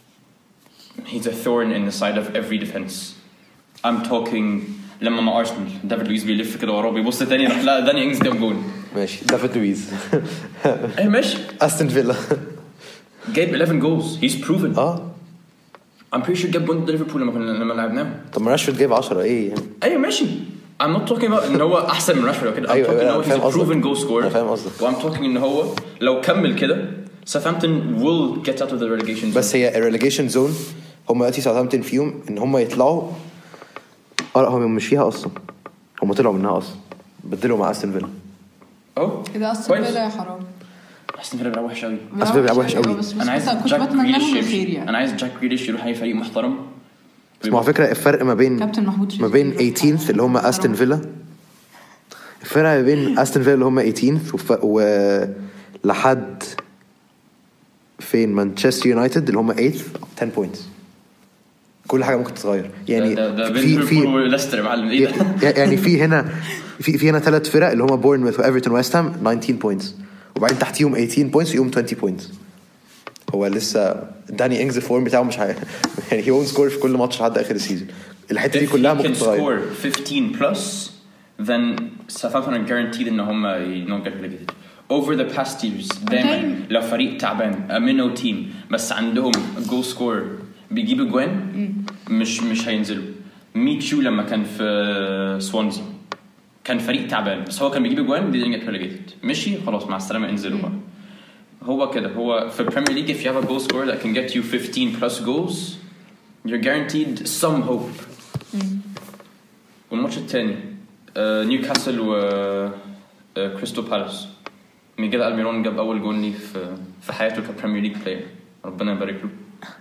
he's a thorn in the side of every defense. I'm talking لما مع أرسنال دافيد لويز بيلف كده وراه بيبص تاني لا داني إنجز جاب جول. ماشي دافيد لويز ايه ماشي. أستون فيلا جايب 11 goals. he's proven. I'm pretty sure جاب جول ليفربول لما لعبناه. طب ما راشفورد جايب 10 ايه يعني. ايوه ماشي. I'm not talking about ان هو احسن من راشفورد كده. I'm talking ان هو he's a proven goal scorer. فاهم قصدك. I'm talking ان هو لو كمل كده Southampton will get out of the relegation zone. بس هي relegation zone هم دلوقتي Southampton فيهم ان هم يطلعوا. هم مش فيها اصلا، هم طلعوا منها اصلا، بدلوا مع استون فيلا. كده استون فيلا يا حرام. استون فيلا بيلعب وحش قوي. استون فيلا بيلعب وحش قوي. انا عايز جاك جريليش يعني. انا عايز جاك جريليش يروح اي فريق محترم. بس على فكره الفرق ما بين 18th اللي هم استون فيلا، الفرق ما بين استون فيلا اللي هم 18th ولحد فين مانشستر يونايتد اللي هم 8th 10 points. كل حاجه ممكن تتغير يعني. ده في ليستر معلم ايه ده يعني في هنا 3 فرق اللي هم بورنموث وايفرتون ويست هام 19 بوينتس، وبعدين تحتيهم 18 بوينتس ويوم 20 بوينتس. هو لسه داني إنجز الفورم بتاعه مش يعني هي وون سكور في كل ماتش لحد اخر السيزون. الحته دي كلها ممكن تتغير. 15 plus then Southampton are guaranteed ان هم not get relegated. Over the past years دايما لو فريق تعبان امينو تيم بس عندهم جول سكور بيجيب اجوان مش هينزلوا. ميتشو لما كان في سوانزي كان فريق تعبان بس هو كان بيجيب اجوان didn't get relegated. مشي خلاص مع السلامه انزلوا بقى. هو كده هو في البريمير ليج if you have a goal scorer that can get you 15 plus goals you're guaranteed some hope. والماتش الثاني نيوكاسل و كريستال بالاس. ميغيل ألميرون جاب اول جول لي في حياته كبريمير ليج بلاير. ربنا يبارك له.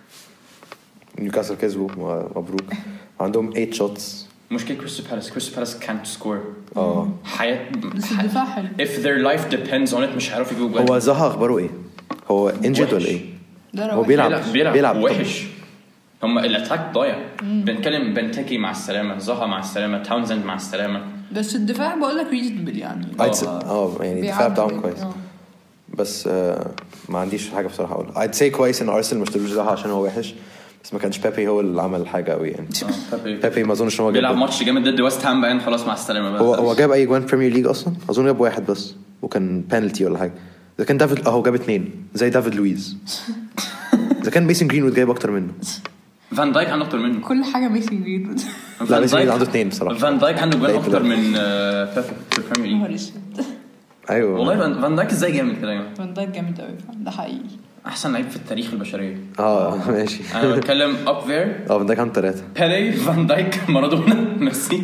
نيوكاسل كسبوا مبروك. عندهم 8 shots. مشكلة كريستال بالاس can't score. حياة الدفاع حلو. if their life depends on it مش هيعرفوا يجيبوا جول. هو زها اخباره ايه؟ هو انجد ولا ايه؟ هو بيلعب وحش. هم الاتاك ضايع. بنتكلم بنتكي مع السلامة، زها مع السلامة، تاونزند مع السلامة. بس الدفاع بقول لك ريزونبل يعني. يعني الدفاع بتاعهم كويس. بس ما عنديش حاجة بصراحة اقولها. I'd say كويس ان ارسنال ما اشتروش زها عشان هو وحش. بس ما كانش بيبي هو اللي عمل حاجه قوي يعني. بيبي ما اظنش ان هو بيلعب ماتش جامد ضد ويست هام بقى خلاص مع السلامه بقى. هو جاب اي جوان بريمير ليج اصلا؟ اظن جاب واحد بس وكان بينالتي ولا حاجه. اذا كان دافيد هو جاب 2 زي دافيد لويز. اذا كان ميسن جرينوود جايب اكتر منه. فان دايك عنده اكتر منه. كل حاجه ميسن جرينوود. لا ميسن جرينوود عنده 2 بصراحه. فان دايك عنده جوان اكتر من بيبي في البريمير ليج. ايوه والله فان دايك ازاي جامد كده يا جماعه. فان دايك جامد قوي ده حقيقي. احسن لعيب في التاريخ البشريه. ماشي. انا بتكلم up there. فان دايك عنده 3. بيلي فان دايك مارادونا ميسي.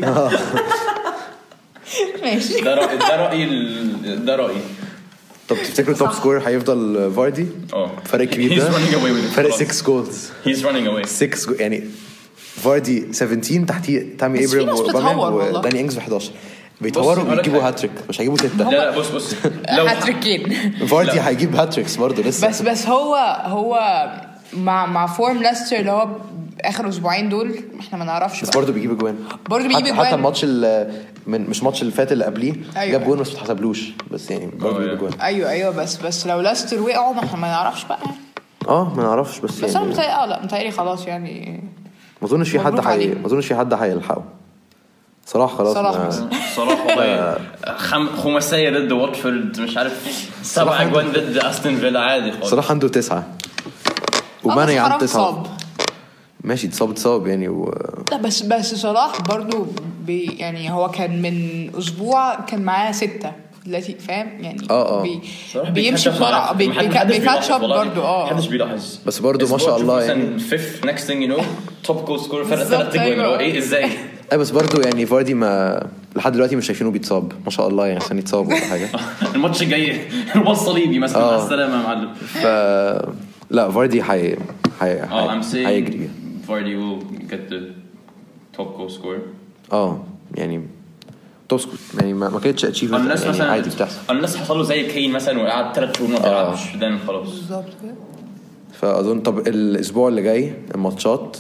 ماشي. ده رأيي. طب تفتكروا توب سكور هيفضل فاردي؟ فرق كبير ده. فرق 6 جولز. He's running away. 6 يعني فاردي 17 تحتيه تامي ابراهيم وداني إنجز 11. بيتطوروا بيجيبوا هاتريك مش هيجيبوا 6. لا بص لو هاتريكين فاردي هيجيب هاتريكس برضه لسه. بس هو مع فورم ليستر اللي هو اخر اسبوعين دول احنا ما نعرفش بس برضه بيجيب اجوان حتى الماتش مش ماتش اللي فات اللي قبليه جاب جون بس ما اتحسبلوش بس يعني برضه بيجيب اجوان. ايوه بس لو لاستر وقعوا ما احنا ما نعرفش بقى ما نعرفش بس انا متهيألي خلاص يعني ما اظنش في حد هيلحقه صراحه خلاص صراحه والله خماسيه ضد واتفورد مش عارف 7 اجوان ضد استون فيلا عادي خالص صراحه عنده 9 وماني عنده 9 ماشي اتصاب يعني لا بس صلاح برضو يعني هو كان من اسبوع كان معاه 6 دلوقتي فاهم يعني بيمشي بسرعه بيكاتشب برضو محدش بيلاحظ بس برضو ما شاء الله يعني fifth next thing you know top goal scorer فرق 3 اجوان ايه ازاي بس برضو يعني فاردي ما لحد دلوقتي مش شايفينه بيتصاب ما شاء الله يعني عشان يتصاب ولا حاجه الماتش الجاي الوصل صليبي مثلا مع السلامه يا معلم لا فاردي هيجري Vardy will get the top goal scorer يعني توب سكور يعني ما كانتش اتشيفمنت يعني عادي بتحصل الناس حصل له زي كين مثلا وقعد 3 شهور ما بيلعبش ده خلاص بالظبط كده. فاظن طب الاسبوع اللي جاي الماتشات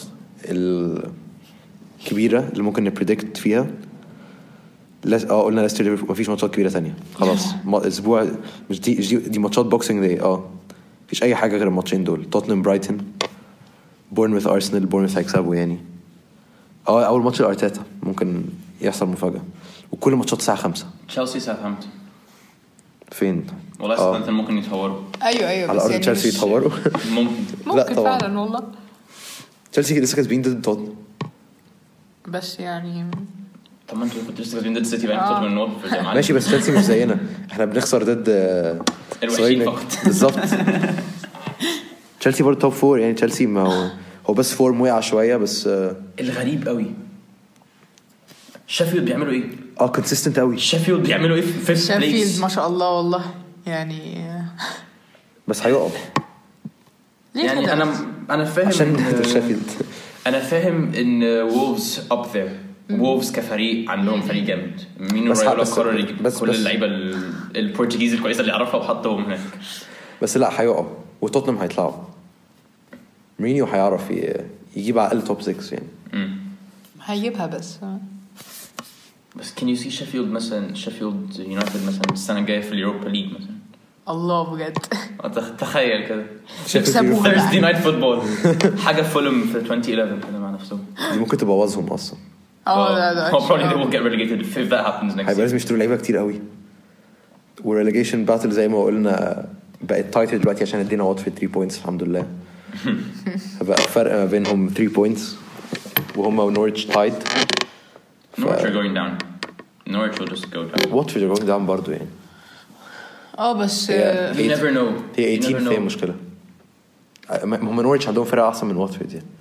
الكبيره اللي ممكن نبريدكت فيها قلنا ليستر ليفربول مفيش ماتشات كبيره ثانيه خلاص اسبوع مش دي ماتشات بوكسينج داي مفيش اي حاجه غير الماتشين دول توتنهام برايتون بورنموث ارسنال بورنموث هيكسبوا يعني اول ماتش الارتيتا ممكن يحصل مفاجاه وكل ماتشات الساعه 5 تشيلسي ساوثهامبتون فين والله ساوثهامبتون ممكن يتهوروا ايوه على ارض يعني تشيلسي يتهوروا ممكن فعلا والله تشيلسي لسه كاسبين ضد توتنهام بس يعني طب ما انتوا كنتوا لسه كاسبين ضد السيتي بقى توتنهام النور في الجماعه ماشي بس تشيلسي مش زينا احنا بنخسر ضد الوحيد فقط بالظبط تشيلسي برضه توب 4 يعني تشيلسي ما هو بس فورم وقع شويه بس الغريب قوي شيفيلد بيعملوا ايه كونسيستنت قوي شيفيلد بيعملوا ايه في شيفيلد ما شاء الله والله يعني بس هيقف يعني انا فاهم عشان شيفيلد انا فاهم ان وولفز اب ذير وولفز كفريق عندهم فريق جامد مين رايولا قرر يجيب كل اللعيبه البرتغيز الكويسه اللي يعرفها وحطهم هناك بس لا هيقف وتوتنهام هيطلعوا مورينيو هيعرف يجيب على الاقل توب 6 يعني هيجيبها بس can you see شيفيلد مثلا شيفيلد يونايتد مثلا السنه الجايه في اليوروبا ليج مثلا الله بجد تخيل كده يكسبوها Thursday night football حاجه فولم في 2011 كده مع نفسهم دي ممكن تبوظهم اصلا ده probably they will get relegated if that happens next هيبقى لازم يشتروا لعيبه كتير قوي والريليجيشن باتل زي ما قلنا بقت تايتل دلوقتي عشان ادينا وات في 3 بوينتس الحمد لله بقى فرق ما بينهم 3 بوينتس وهم ونورتش تايد Norwich are going down Norwich will just go down Watford are going down برضو يعني بس you never know هي 18 في مشكلة هم نورتش عندهم فرقة أحسن من واتفورد يعني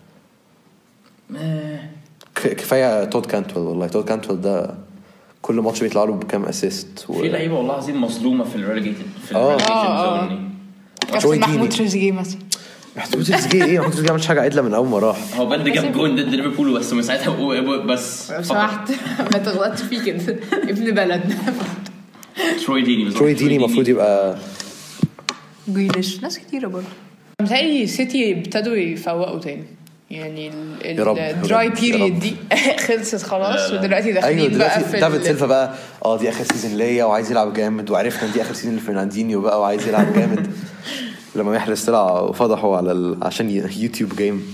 كفاية تود كانتويل والله تود كانتويل ده كل ماتش بيطلع له بكام اسيست في لعيبة والله عظيم مظلومة في الريليجيتد في الريليجيشن كابتن محمود تريزيجيه مثلا محمود تريزيجيه ايه محمود تريزيجيه عملش حاجة عدلة من أول ما راح هو بجد جاب جون ضد ليفربول بس من ساعتها بس سمحت ما تغلطش فيه كده ابن بلدنا تروي ديني المفروض يبقى جريليش ناس كتيرة برضه متهيألي سيتي ابتدوا يفوقوا تاني يعني الدراي بيريد دي خلصت خلاص ودلوقتي داخلين بقى في دافيد سيلفا بقى دي اخر سيزون ليا وعايز يلعب جامد وعرفنا دي اخر سيزون لفرناندينيو بقى وعايز يلعب جامد لما محرز طلع وفضحوا على عشان يوتيوب جيم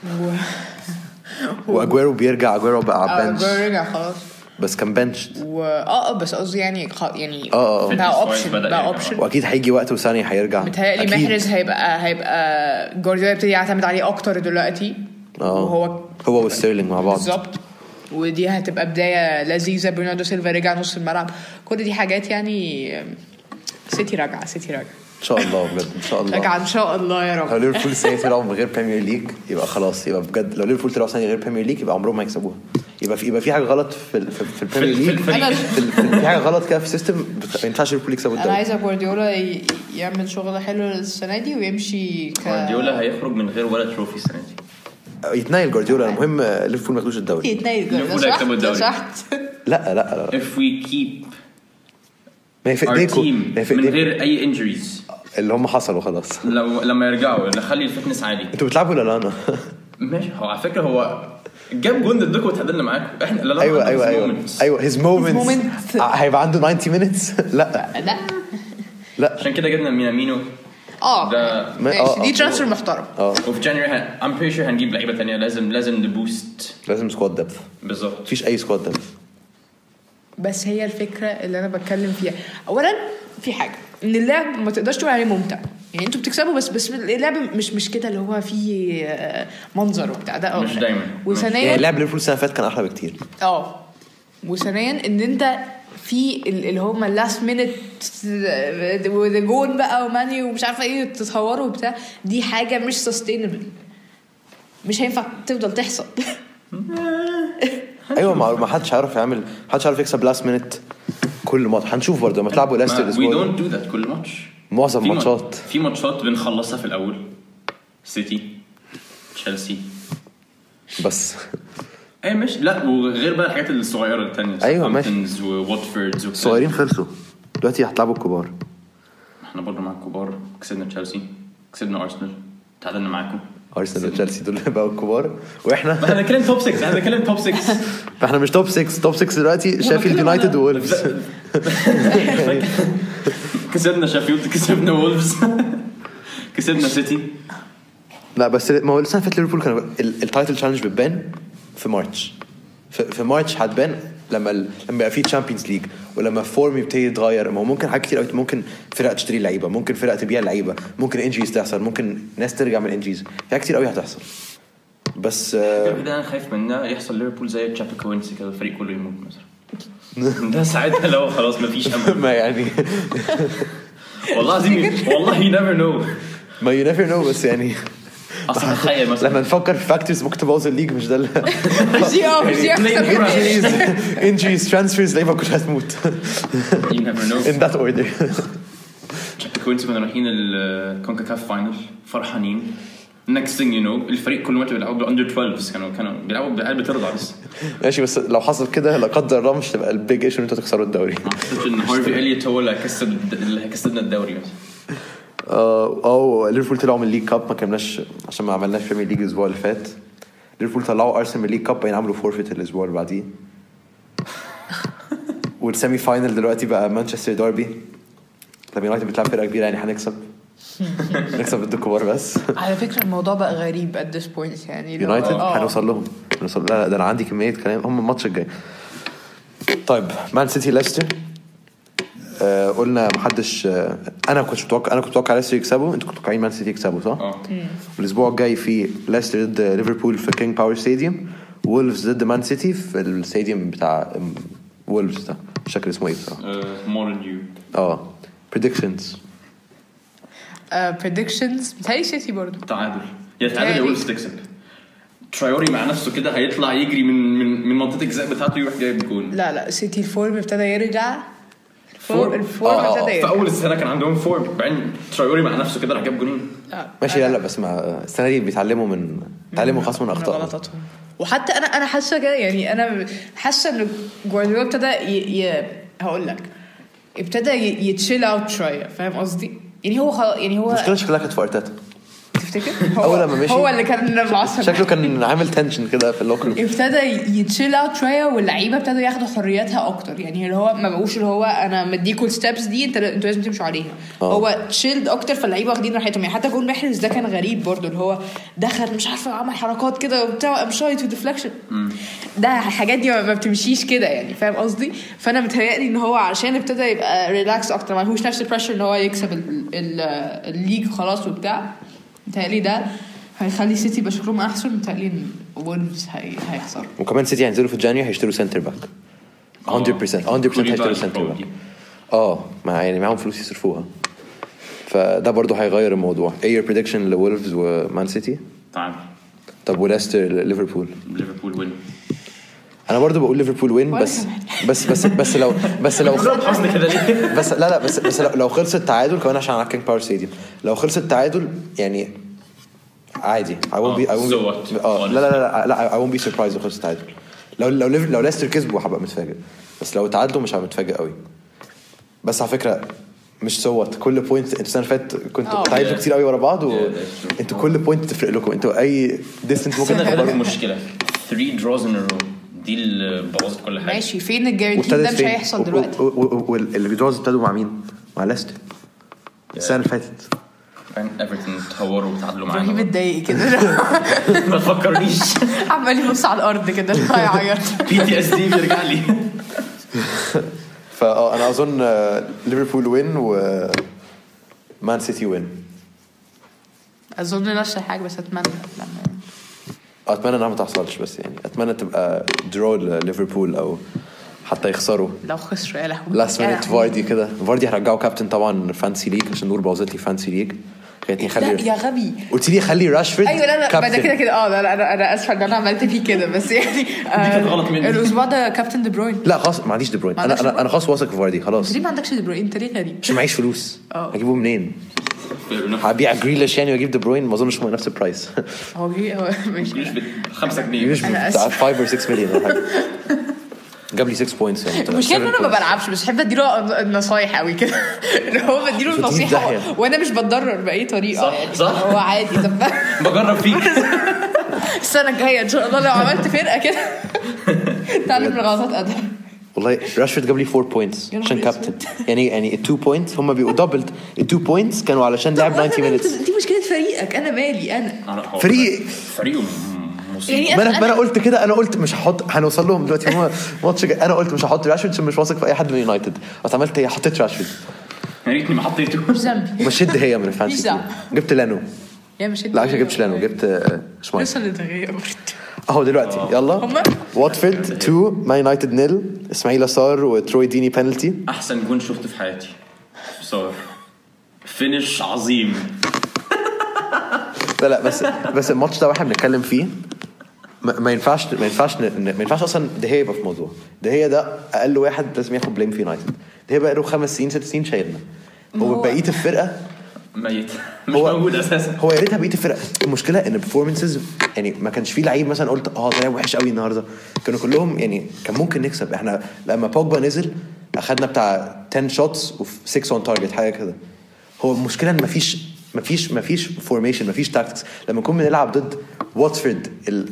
واجويرو بيرجع اجويرو بقى بنش اجويرو رجع خلاص بس كان بنش بس قصدي يعني بقى اوبشن واكيد هيجي وقت وثاني هيرجع متهيألي محرز هيبقى جوارديولا يبتدي يعتمد عليه اكتر دلوقتي هو وستيرلينج مع بعض بالظبط ودي هتبقى بدايه لذيذه برناردو سيلفا رجع نص الملعب كل دي حاجات يعني سيتي راجعه ان شاء الله بجد ان شاء الله راجعه ان شاء الله يا رب لو ليفربول سنه طلعوا من غير بريمير ليج يبقى خلاص يبقى بجد لو ليفربول طلعوا سنه غير بريمير ليج يبقى عمرهم ما يكسبوها يبقى في حاجه غلط في البريمير ليج في حاجه غلط كده في السيستم ما ينفعش ليفربول يكسبوا الدوري. انا عايزه جوارديولا يعمل شغل حلو السنه دي ويمشي جوارديولا هيخرج من غير ولا تروفي السنه دي يتنايل جوارديولا المهم ليفربول ما ياخدوش الدوري ليفربول يكسبوا الدوري لا if we keep ما في ايديكم من غير اي انجريز اللي هم حصلوا خلاص لما يرجعوا نخلي الفتنس عالي انتوا بتلعبوا ولا لا انا ماشي. هو على فكره هو جاب جون ضدكم وتعادلنا معاكم احنا. لا ايوه his moments هيبقى عنده 90 minutes. لا عشان كده جبنا مينامينو. ده ماشي دي ترانسفير محترم. وفي جانيوري I'm pretty sure هنجيب لعيبه ثانيه. لازم نبوست. لازم سكواد دبث. بالظبط. مفيش اي سكواد دبث. بس هي الفكره اللي انا بتكلم فيها. اولا في حاجه ان اللعب ما تقدرش تقول عليه ممتع. يعني انتوا بتكسبوا بس اللعب مش كده اللي هو فيه منظر وبتاع ده. مش دايما. وثانيا يعني لعب ليفربول السنه اللي فاتت كان احلى بكتير. وثانيا ان انت في اللي هم اللاست مينت وذا جون بقى وماني ومش عارفه ايه تتصوروا وبتاع. دي حاجه مش سستينبل. مش هينفع تفضل تحصل. ايوه ما حدش عارف يعمل. حدش عارف يكسب لاست مينت كل ماتش. هنشوف برضه لما تلعبوا ليستر الاسبوع. We don't do that كل ماتش. معظم ماتشات في ماتشات بنخلصها في الاول. سيتي تشيلسي بس مش لا. وغير بقى الحاجات الصغيره الثانيه. ايوه ماشي. وواتفورد صغيرين خلصوا. دلوقتي هتلعبوا الكبار. احنا برضه مع الكبار. كسبنا تشيلسي كسبنا ارسنال تعادلنا معاكم. ارسنال وتشيلسي دول بقوا الكبار واحنا احنا بنتكلم توب 6. احنا بنتكلم توب 6. احنا مش توب 6. توب 6 دلوقتي شيفيلد يونايتد وولفز. كسبنا شيفيلد كسبنا وولفز كسبنا سيتي. لا بس ما هو السنه فاتت ليفربول كان التايتل تشالنج بتبان في مارتش. في مارتش هتبان لما يبقى في تشامبيونز ليج ولما فورم يبتدي يتغير. ما هو ممكن حاجات كتير قوي. ممكن فرق تشتري لعيبه. ممكن فرق تبيع لعيبه. ممكن انجيز تحصل. ممكن ناس ترجع من انجيز. في حاجات كتير قوي هتحصل. بس ده انا خايف منها يحصل ليفربول زي تشابيكوينسي كده الفريق كله يموت مثلا. ده ساعتها لو خلاص مفيش امل. ما يعني والله عظيم. والله you never know. ما you never know. بس يعني اصلا تخيل مثلا لما نفكر في فاكتورز ممكن تبوظ الليج. مش ده injuries transfers لعيبه كلها هتموت. you never know in that order. تشابيكوينسي كنا رايحين الكونكاكاف فاينل فرحانين. next thing you know الفريق كل ما بيلعبوا under 12 كانوا بيلعبوا بقلب ترضع بس. ماشي بس لو حصل كده لا قدر الله مش تبقى البيج ايشو ان انتوا تخسروا الدوري. ما اعتقدش ان هارفي اليوت هو اللي كسبنا الدوري بس. ليفربول طلعوا من الليج كاب. ما كملناش عشان ما عملناش بريمير ليج الاسبوع اللي فات. ليفربول طلعوا ارسنال من الليج كاب بين عملوا فورفيت الاسبوع اللي بعديه. والسيمي فاينل دلوقتي بقى مانشستر ديربي. لما يونايتد بتلعب فرقه كبيره يعني هنكسب ضد الكبار. بس على فكره الموضوع بقى غريب at this point. يعني يونايتد هنوصل لهم. لا ده انا عندي كميه كلام. هم الماتش الجاي. طيب مان سيتي ليستر. قلنا محدش. انا كنت متوقع ليستر يكسبوا. انتوا كنتوا متوقعين مان سيتي يكسبوا صح؟ والاسبوع الجاي في ليستر ضد ليفربول في كينج باور ستاديوم. وولفز ضد مان سيتي في الستاديوم بتاع وولفز ده مش فاكر اسمه ايه بصراحه. مورنيو. predictions بتاعي سيتي برضو تعادل. يتعادل وولفز تكسب. ترايوري مع نفسه كده هيطلع يجري من منطقه الجزاء بتاعته يروح جايب جول. لا سيتي الفورم ابتدى يرجع. الفورم ابتدى في اول السنه كان عندهم فورم. بعدين ترايوري مع نفسه كده راح جاب جولين. ماشي. لا بس مع السنه دي بيتعلموا خاص من اخطائهم. وحتى انا حاسه كده. يعني انا حاسه ان جوارديولا ابتدى هقول لك ابتدى يتشيل اوت شويه. فاهم قصدي؟ يعني هو مشكله شكلها كانت في ارتيتا. تفتكر هو اللي كان معصب. شكله كان عامل تنشن كده في اللوكر. ابتدى يتشيل اوت شويه واللعيبه ابتدوا ياخدوا حريتها اكتر. يعني اللي هو ما بقوش اللي هو انا مديكوا الستبس دي انتوا لازم تمشوا عليها. هو تشيلد اكتر فاللعيبه واخدين راحتهم. يعني حتى جول محرز ده كان غريب برضو. اللي هو دخل مش عارفه عمل حركات كده وبتاع شايت وديفلكشن. ده الحاجات دي ما بتمشيش كده. يعني فاهم قصدي؟ فانا متهيألي ان هو عشان ابتدى يبقى ريلاكس اكتر. ما هوش نفس البريشر ان هو يكسب الليج خلاص وبتاع. متهيألي ده هيخلي سيتي بشكلهم احسن. متهيألي ان وولفز هيخسر. وكمان سيتي هينزلوا في جانيوري هيشتروا سنتر باك 100% هيشتروا سنتر باك. يعني معهم فلوس يصرفوها. فده برضو هيغير الموضوع. ايه your prediction لولفز ومان سيتي؟ طب وليستر ليفربول وين. انا برضو بقول ليفربول وين. بس لو لو خلص التعادل كمان عشان على كينج باور ستاديوم. لو خلص التعادل يعني عادي. I won't be I won't be surprised لو خلص التعادل. لو ليستر كسبوا هبقى متفاجئ. بس لو تعادلوا مش هبقى متفاجئ قوي. بس على فكره مش صوت كل بوينت. انتوا السنه اللي فاتت كنتوا تعادلوا كتير قوي ورا بعض وانتوا كل بوينت تفرق لكم. انتوا اي ديستنس ممكن تاخدوا. مشكله 3 draws in a row دي اللي بوظت كل حاجه. ماشي فين الجارانتي ده مش هيحصل دلوقتي. واللي بيدروز ابتدوا مع مين؟ مع ليستر السنه اللي فاتت. ايفرتون تهوروا وتعادلوا معانا. رهيب اتضايق كده ما تفكرنيش عمال يبص على الارض كده هيعيط. PTSD بيرجع لي. فانا اظن ليفربول وين ومان سيتي وين. اظن نفس الحاجه بس اتمنى انها ما تحصلش بس يعني اتمنى تبقى درو ليفربول او حتى يخسروا. لو خسروا يا لهوي لاست مينت فاردي كده. فاردي هرجعه كابتن طبعا فانسي ليج عشان نور بوظت لي فانسي ليج. خليتني خلي يا غبي قلت لي خلي راشفورد. ايوه لا بعد كده لا انا اسفه ان انا عملت فيه كده بس يعني كانت غلط مني. الاسبوع ده كابتن دي بروين. لا خلاص ما عنديش دي بروين. انا خلاص واثق في فاردي خلاص. ليه ما عندكش دي بروين؟ انت ليه غريب؟ مش معيش فلوس. هجيبه منين؟ هبيع جريليش يعني واجيب دي بروين ما اظنش هو نفس البرايس. هو مش ب5 جنيه مش بتاع 5 or 6 مليون ولا حاجه. جاب لي 6 بوينتس يعني. مش كده انا ما بلعبش بس بحب اديله النصايح قوي كده اللي هو بديله النصيحه وانا مش بتضرر باي طريقه. صح هو عادي. طب بجرب فيك السنه الجايه ان شاء الله لو عملت فرقه كده تعلم من غلطات ادم. والله راشفورد جاب لي 4 بوينتس عشان كابتن يعني 2 بوينتس هم بيبقوا دبلد. ال 2 بوينتس كانوا علشان لعب 90 مينتس. دي مشكله فريقك انا مالي انا فريقه يعني ما انا قلت كده. انا قلت مش هحط هنوصل لهم دلوقتي هو ماتش. انا قلت مش هحط راشفورد عشان مش واثق في اي حد من يونايتد. بس عملت ايه؟ حطيت راشفورد. يا ريتني ما حطيته. مش ذنبي. مشيت هي من الفانسي. جبت لانو. يا مش لا عشان جبتش لانو جبت شمايل. لسه التغيير اهو دلوقتي يلا. واتفورد 2 مان يونايتد 0. اسماعيل صار وتروي ديني بينالتي. احسن جون شفته في حياتي صار فينش عظيم. لا بس الماتش ده واحنا بنتكلم فيه ما ينفعش اصلا ده هي يبقى في موضوع. ده هي ده اقل واحد لازم ياخد بليم في يونايتد. ده هي بقى له 5 سنين 6 سنين شايلنا. هو بقيه الفرقه ميت مش موجود اساسا. هو يا ريتها بقيه الفرقه. المشكله ان البرفورمانسز يعني ما كانش فيه لعيب مثلا قلت ده لعب وحش قوي النهارده. كانوا كلهم يعني كان ممكن نكسب. احنا لما بوجبا نزل اخدنا بتاع 10 شوتس و 6 اون تارجت حاجه كده. هو المشكله ان مفيش فورميشن مفيش تاكتكس. لما نكون بنلعب ضد واتفورد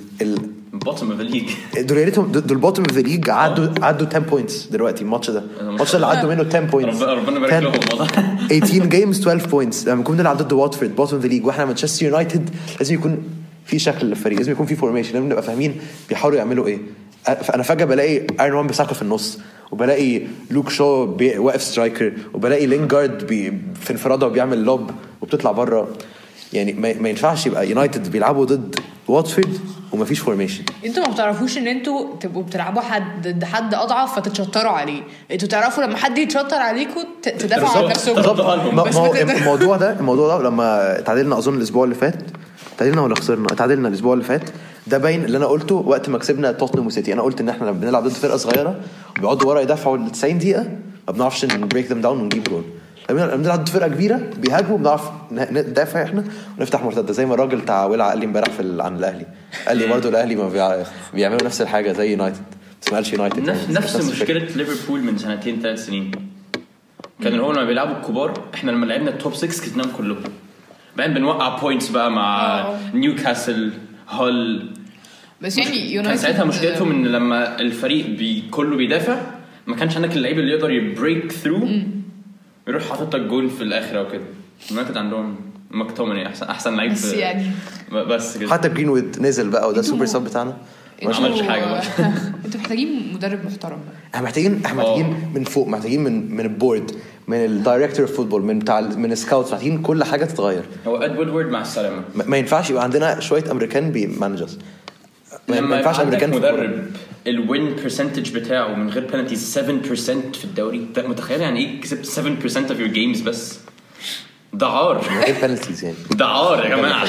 بوتوم اوف ليج دول يا ريتهم دول بوتوم اوف ليج عدوا 10 بوينتس دلوقتي. الماتش ده اللي عدوا منه 10 بوينتس. ربنا يبارك لهم والله. 18 جيمز 12 بوينتس. لما نكون بنلعب ضد واتفورد بوتوم اوف ليج واحنا مانشستر يونايتد لازم يكون في شكل للفريق. لازم يكون في فورميشن. لازم نبقى فاهمين بيحاولوا يعملوا ايه. انا فجاه بلاقي ايرون مان بيساكل في النص وبلاقي لوك شو واقف سترايكر وبلاقي لينجارد في انفراده وبيعمل لوب وبتطلع بره. يعني ما ينفعش يبقى يونايتد بيلعبوا ضد واتفورد ومفيش فورميشن. انتوا ما بتعرفوش ان انتوا تبقوا بتلعبوا حد اضعف فتتشطروا عليه. انتوا تعرفوا لما حد يتشطر عليكم تدافعوا عن نفسكم. الموضوع ده لما تعادلنا اظن الاسبوع اللي فات. تعادلنا ولا خسرنا؟ تعادلنا الاسبوع اللي فات. ده باين اللي انا قلته وقت ما كسبنا توتنهام وسيتي. انا قلت ان احنا لما بنلعب ضد فرقه صغيره وبيقعدوا ورا يدافعوا 90 دقيقه ما بنعرفش نبريك ذم داون ونجيب جول. لما بنلعب ضد فرقه كبيره بيهاجموا بنعرف ندافع احنا ونفتح مرتده. زي ما الراجل بتاع ولع قال لي امبارح عن الاهلي. قال لي برضه الاهلي ما بيعملوا نفس الحاجه زي يونايتد. ما اسمهاش يونايتد. نفس مشكله ليفربول من 2-3 سنين. كان هو لما بيلعبوا الكبار احنا لما لعبنا التوب 6 كسبناهم كلهم. بعدين بنوقع بوينتس بقى مع نيوكاسل هول. بس يعني كان ساعتها مشكلتهم ان لما الفريق كله بيدافع ما كانش عندك اللعيب اللي يقدر يبريك ثرو يروح حاطط لك جول في الاخر او كده. يونايتد عندهم مكتومني احسن لعيب بس يعني بس كده. حتى جرينوود نزل بقى وده سوبر سب بتاعنا. ما عملش حاجه بقى. انتوا محتاجين مدرب محترم بقى. احنا محتاجين من فوق. محتاجين من البورد من الدايركتور اوف فوتبول من السكاوتس. محتاجين كل حاجه تتغير. هو ادوارد مع السلامه. ما ينفعش يبقى عندنا شويه امريكان بمانجرز. ما ينفعش امريكان مدرب الوين برسنتج بتاعه من غير بينالتيز 7% في الدوري. انت متخيل يعني ايه كسبت 7% of your games بس؟ ده عار. من غير بينالتيز يعني. ده عار يا جماعه.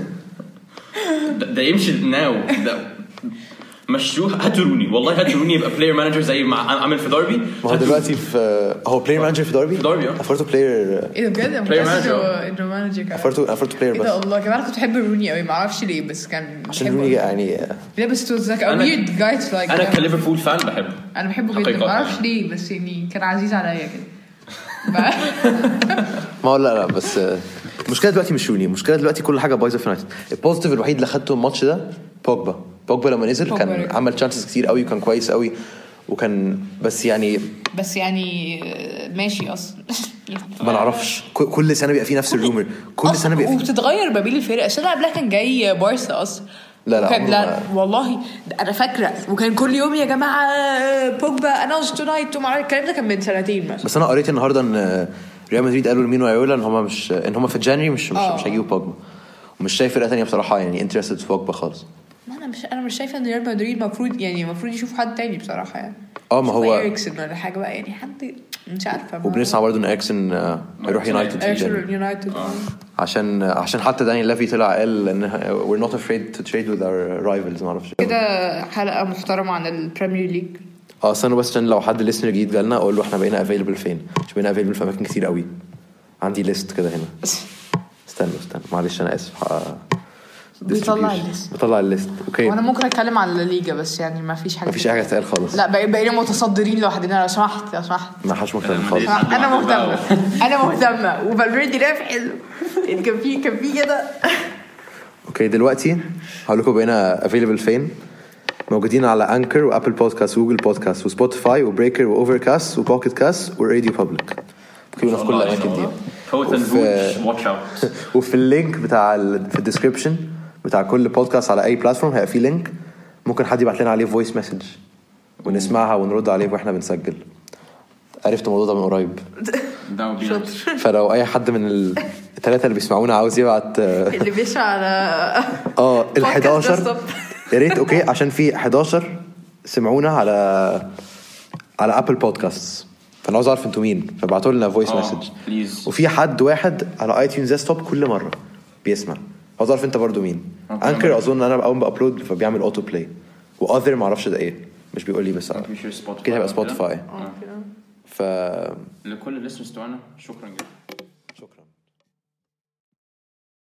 ده يمشي ناو. ده مشروع. هاتروني والله هاتروني يبقى بلاير مانجر زي ما عمل في داربي. ما هو دلوقتي هو بلاير مانجر في داربي. افرتو بلاير. ايه ده بجد؟ بلاير مانجر. انه مانجر كمان. افرتو بلاير بس. ايه ده والله كمان كنت بحب روني قوي ما اعرفش ليه بس كان عشان روني يعني. لا بس تو زك ويرد جايز لايك. انا كليفربول فان بحبه. انا بحبه جدا ما اعرفش ليه بس يعني كان عزيز عليا كده. ما لا بس المشكله دلوقتي مش روني، المشكله دلوقتي كل حاجه بايظه في يونايتد. البوزيتيف الوحيد اللي خدته الماتش ده بوجبا لما نزل كان عمل تشانسز كتير قوي وكان كويس قوي وكان بس يعني ماشي اصلا. ما نعرفش كل سنه بيبقى فيه نفس الرومر كل سنه بيبقى وبتتغير ما بين الفرق. السنه قبلها كان جاي بارسا اصلا لا والله انا فاكره وكان كل يوم يا جماعه بوجبا اناونس تونايت الكلام ده كان من سنتين مثلا. بس انا قريت النهارده ان ريال مدريد قالوا لمين ويولا ان هم مش في الجانري مش هيجيبوا بوجبا ومش شايف فرقه ثانيه بصراحه يعني انترستد في بوجبا خالص. انا مش شايفه ان ريال مدريد المفروض يشوف حد تاني بصراحه يعني. ما هو إريكسن ولا حاجه بقى يعني حد مش عارفه. وبنسمع برضه ان إريكسن هيروح يونايتد عشان حتى داني لافي طلع قال ان we're not afraid to trade with our rivals. ما اعرفش كده حلقه محترمه عن البريمير ليج. استنوا بس عشان لو حد ليسنر جديد جالنا اقول له احنا بقينا افيلبل فين. مش بقينا افيلبل في اماكن كتير قوي. عندي ليست كده هنا. استنى معلش انا اسف. بيطلع الليست. اوكي وانا ممكن اتكلم على الليجا بس يعني ما فيش حاجه تقال خالص. لا بقينا متصدرين لوحدنا. لو سمحت ما حدش مهتم خالص. انا مهتمه وفالفيردي رافع كان في كده. اوكي دلوقتي هقول لكم بقينا افيلبل فين. موجودين على انكر وابل بودكاست وجوجل بودكاست وسبوتيفاي وبريكر واوفركاست وبوكيت كاست وراديو بابليك. كلنا في كل الاماكن دي. وفي اللينك في الديسكريبشن بتاع كل بودكاست على اي بلاتفورم هيبقى في لينك ممكن حد يبعت لنا عليه فويس مسج ونسمعها ونرد عليه واحنا بنسجل. عرفت الموضوع ده من قريب. فلو اي حد من الثلاثه اللي بيسمعونا عاوز يبعت اللي بيسمع على ال11 يا ريت. اوكي عشان في 11 سمعونا على ابل بودكاست فانا عاوز اعرف انتوا مين فبعتوا لنا فويس مسج. وفي حد واحد على اي تيونز ديسكتوب كل مره بيسمع. عاوز اعرف انت برضو مين. انكر اظن انا اول ما بابلود فبيعمل اوتو بلاي واذر ما اعرفش ده ايه مش بيقول لي بس كده هيبقى سبوتيفاي. لكل الليسنرز بتوعنا شكرا جدا.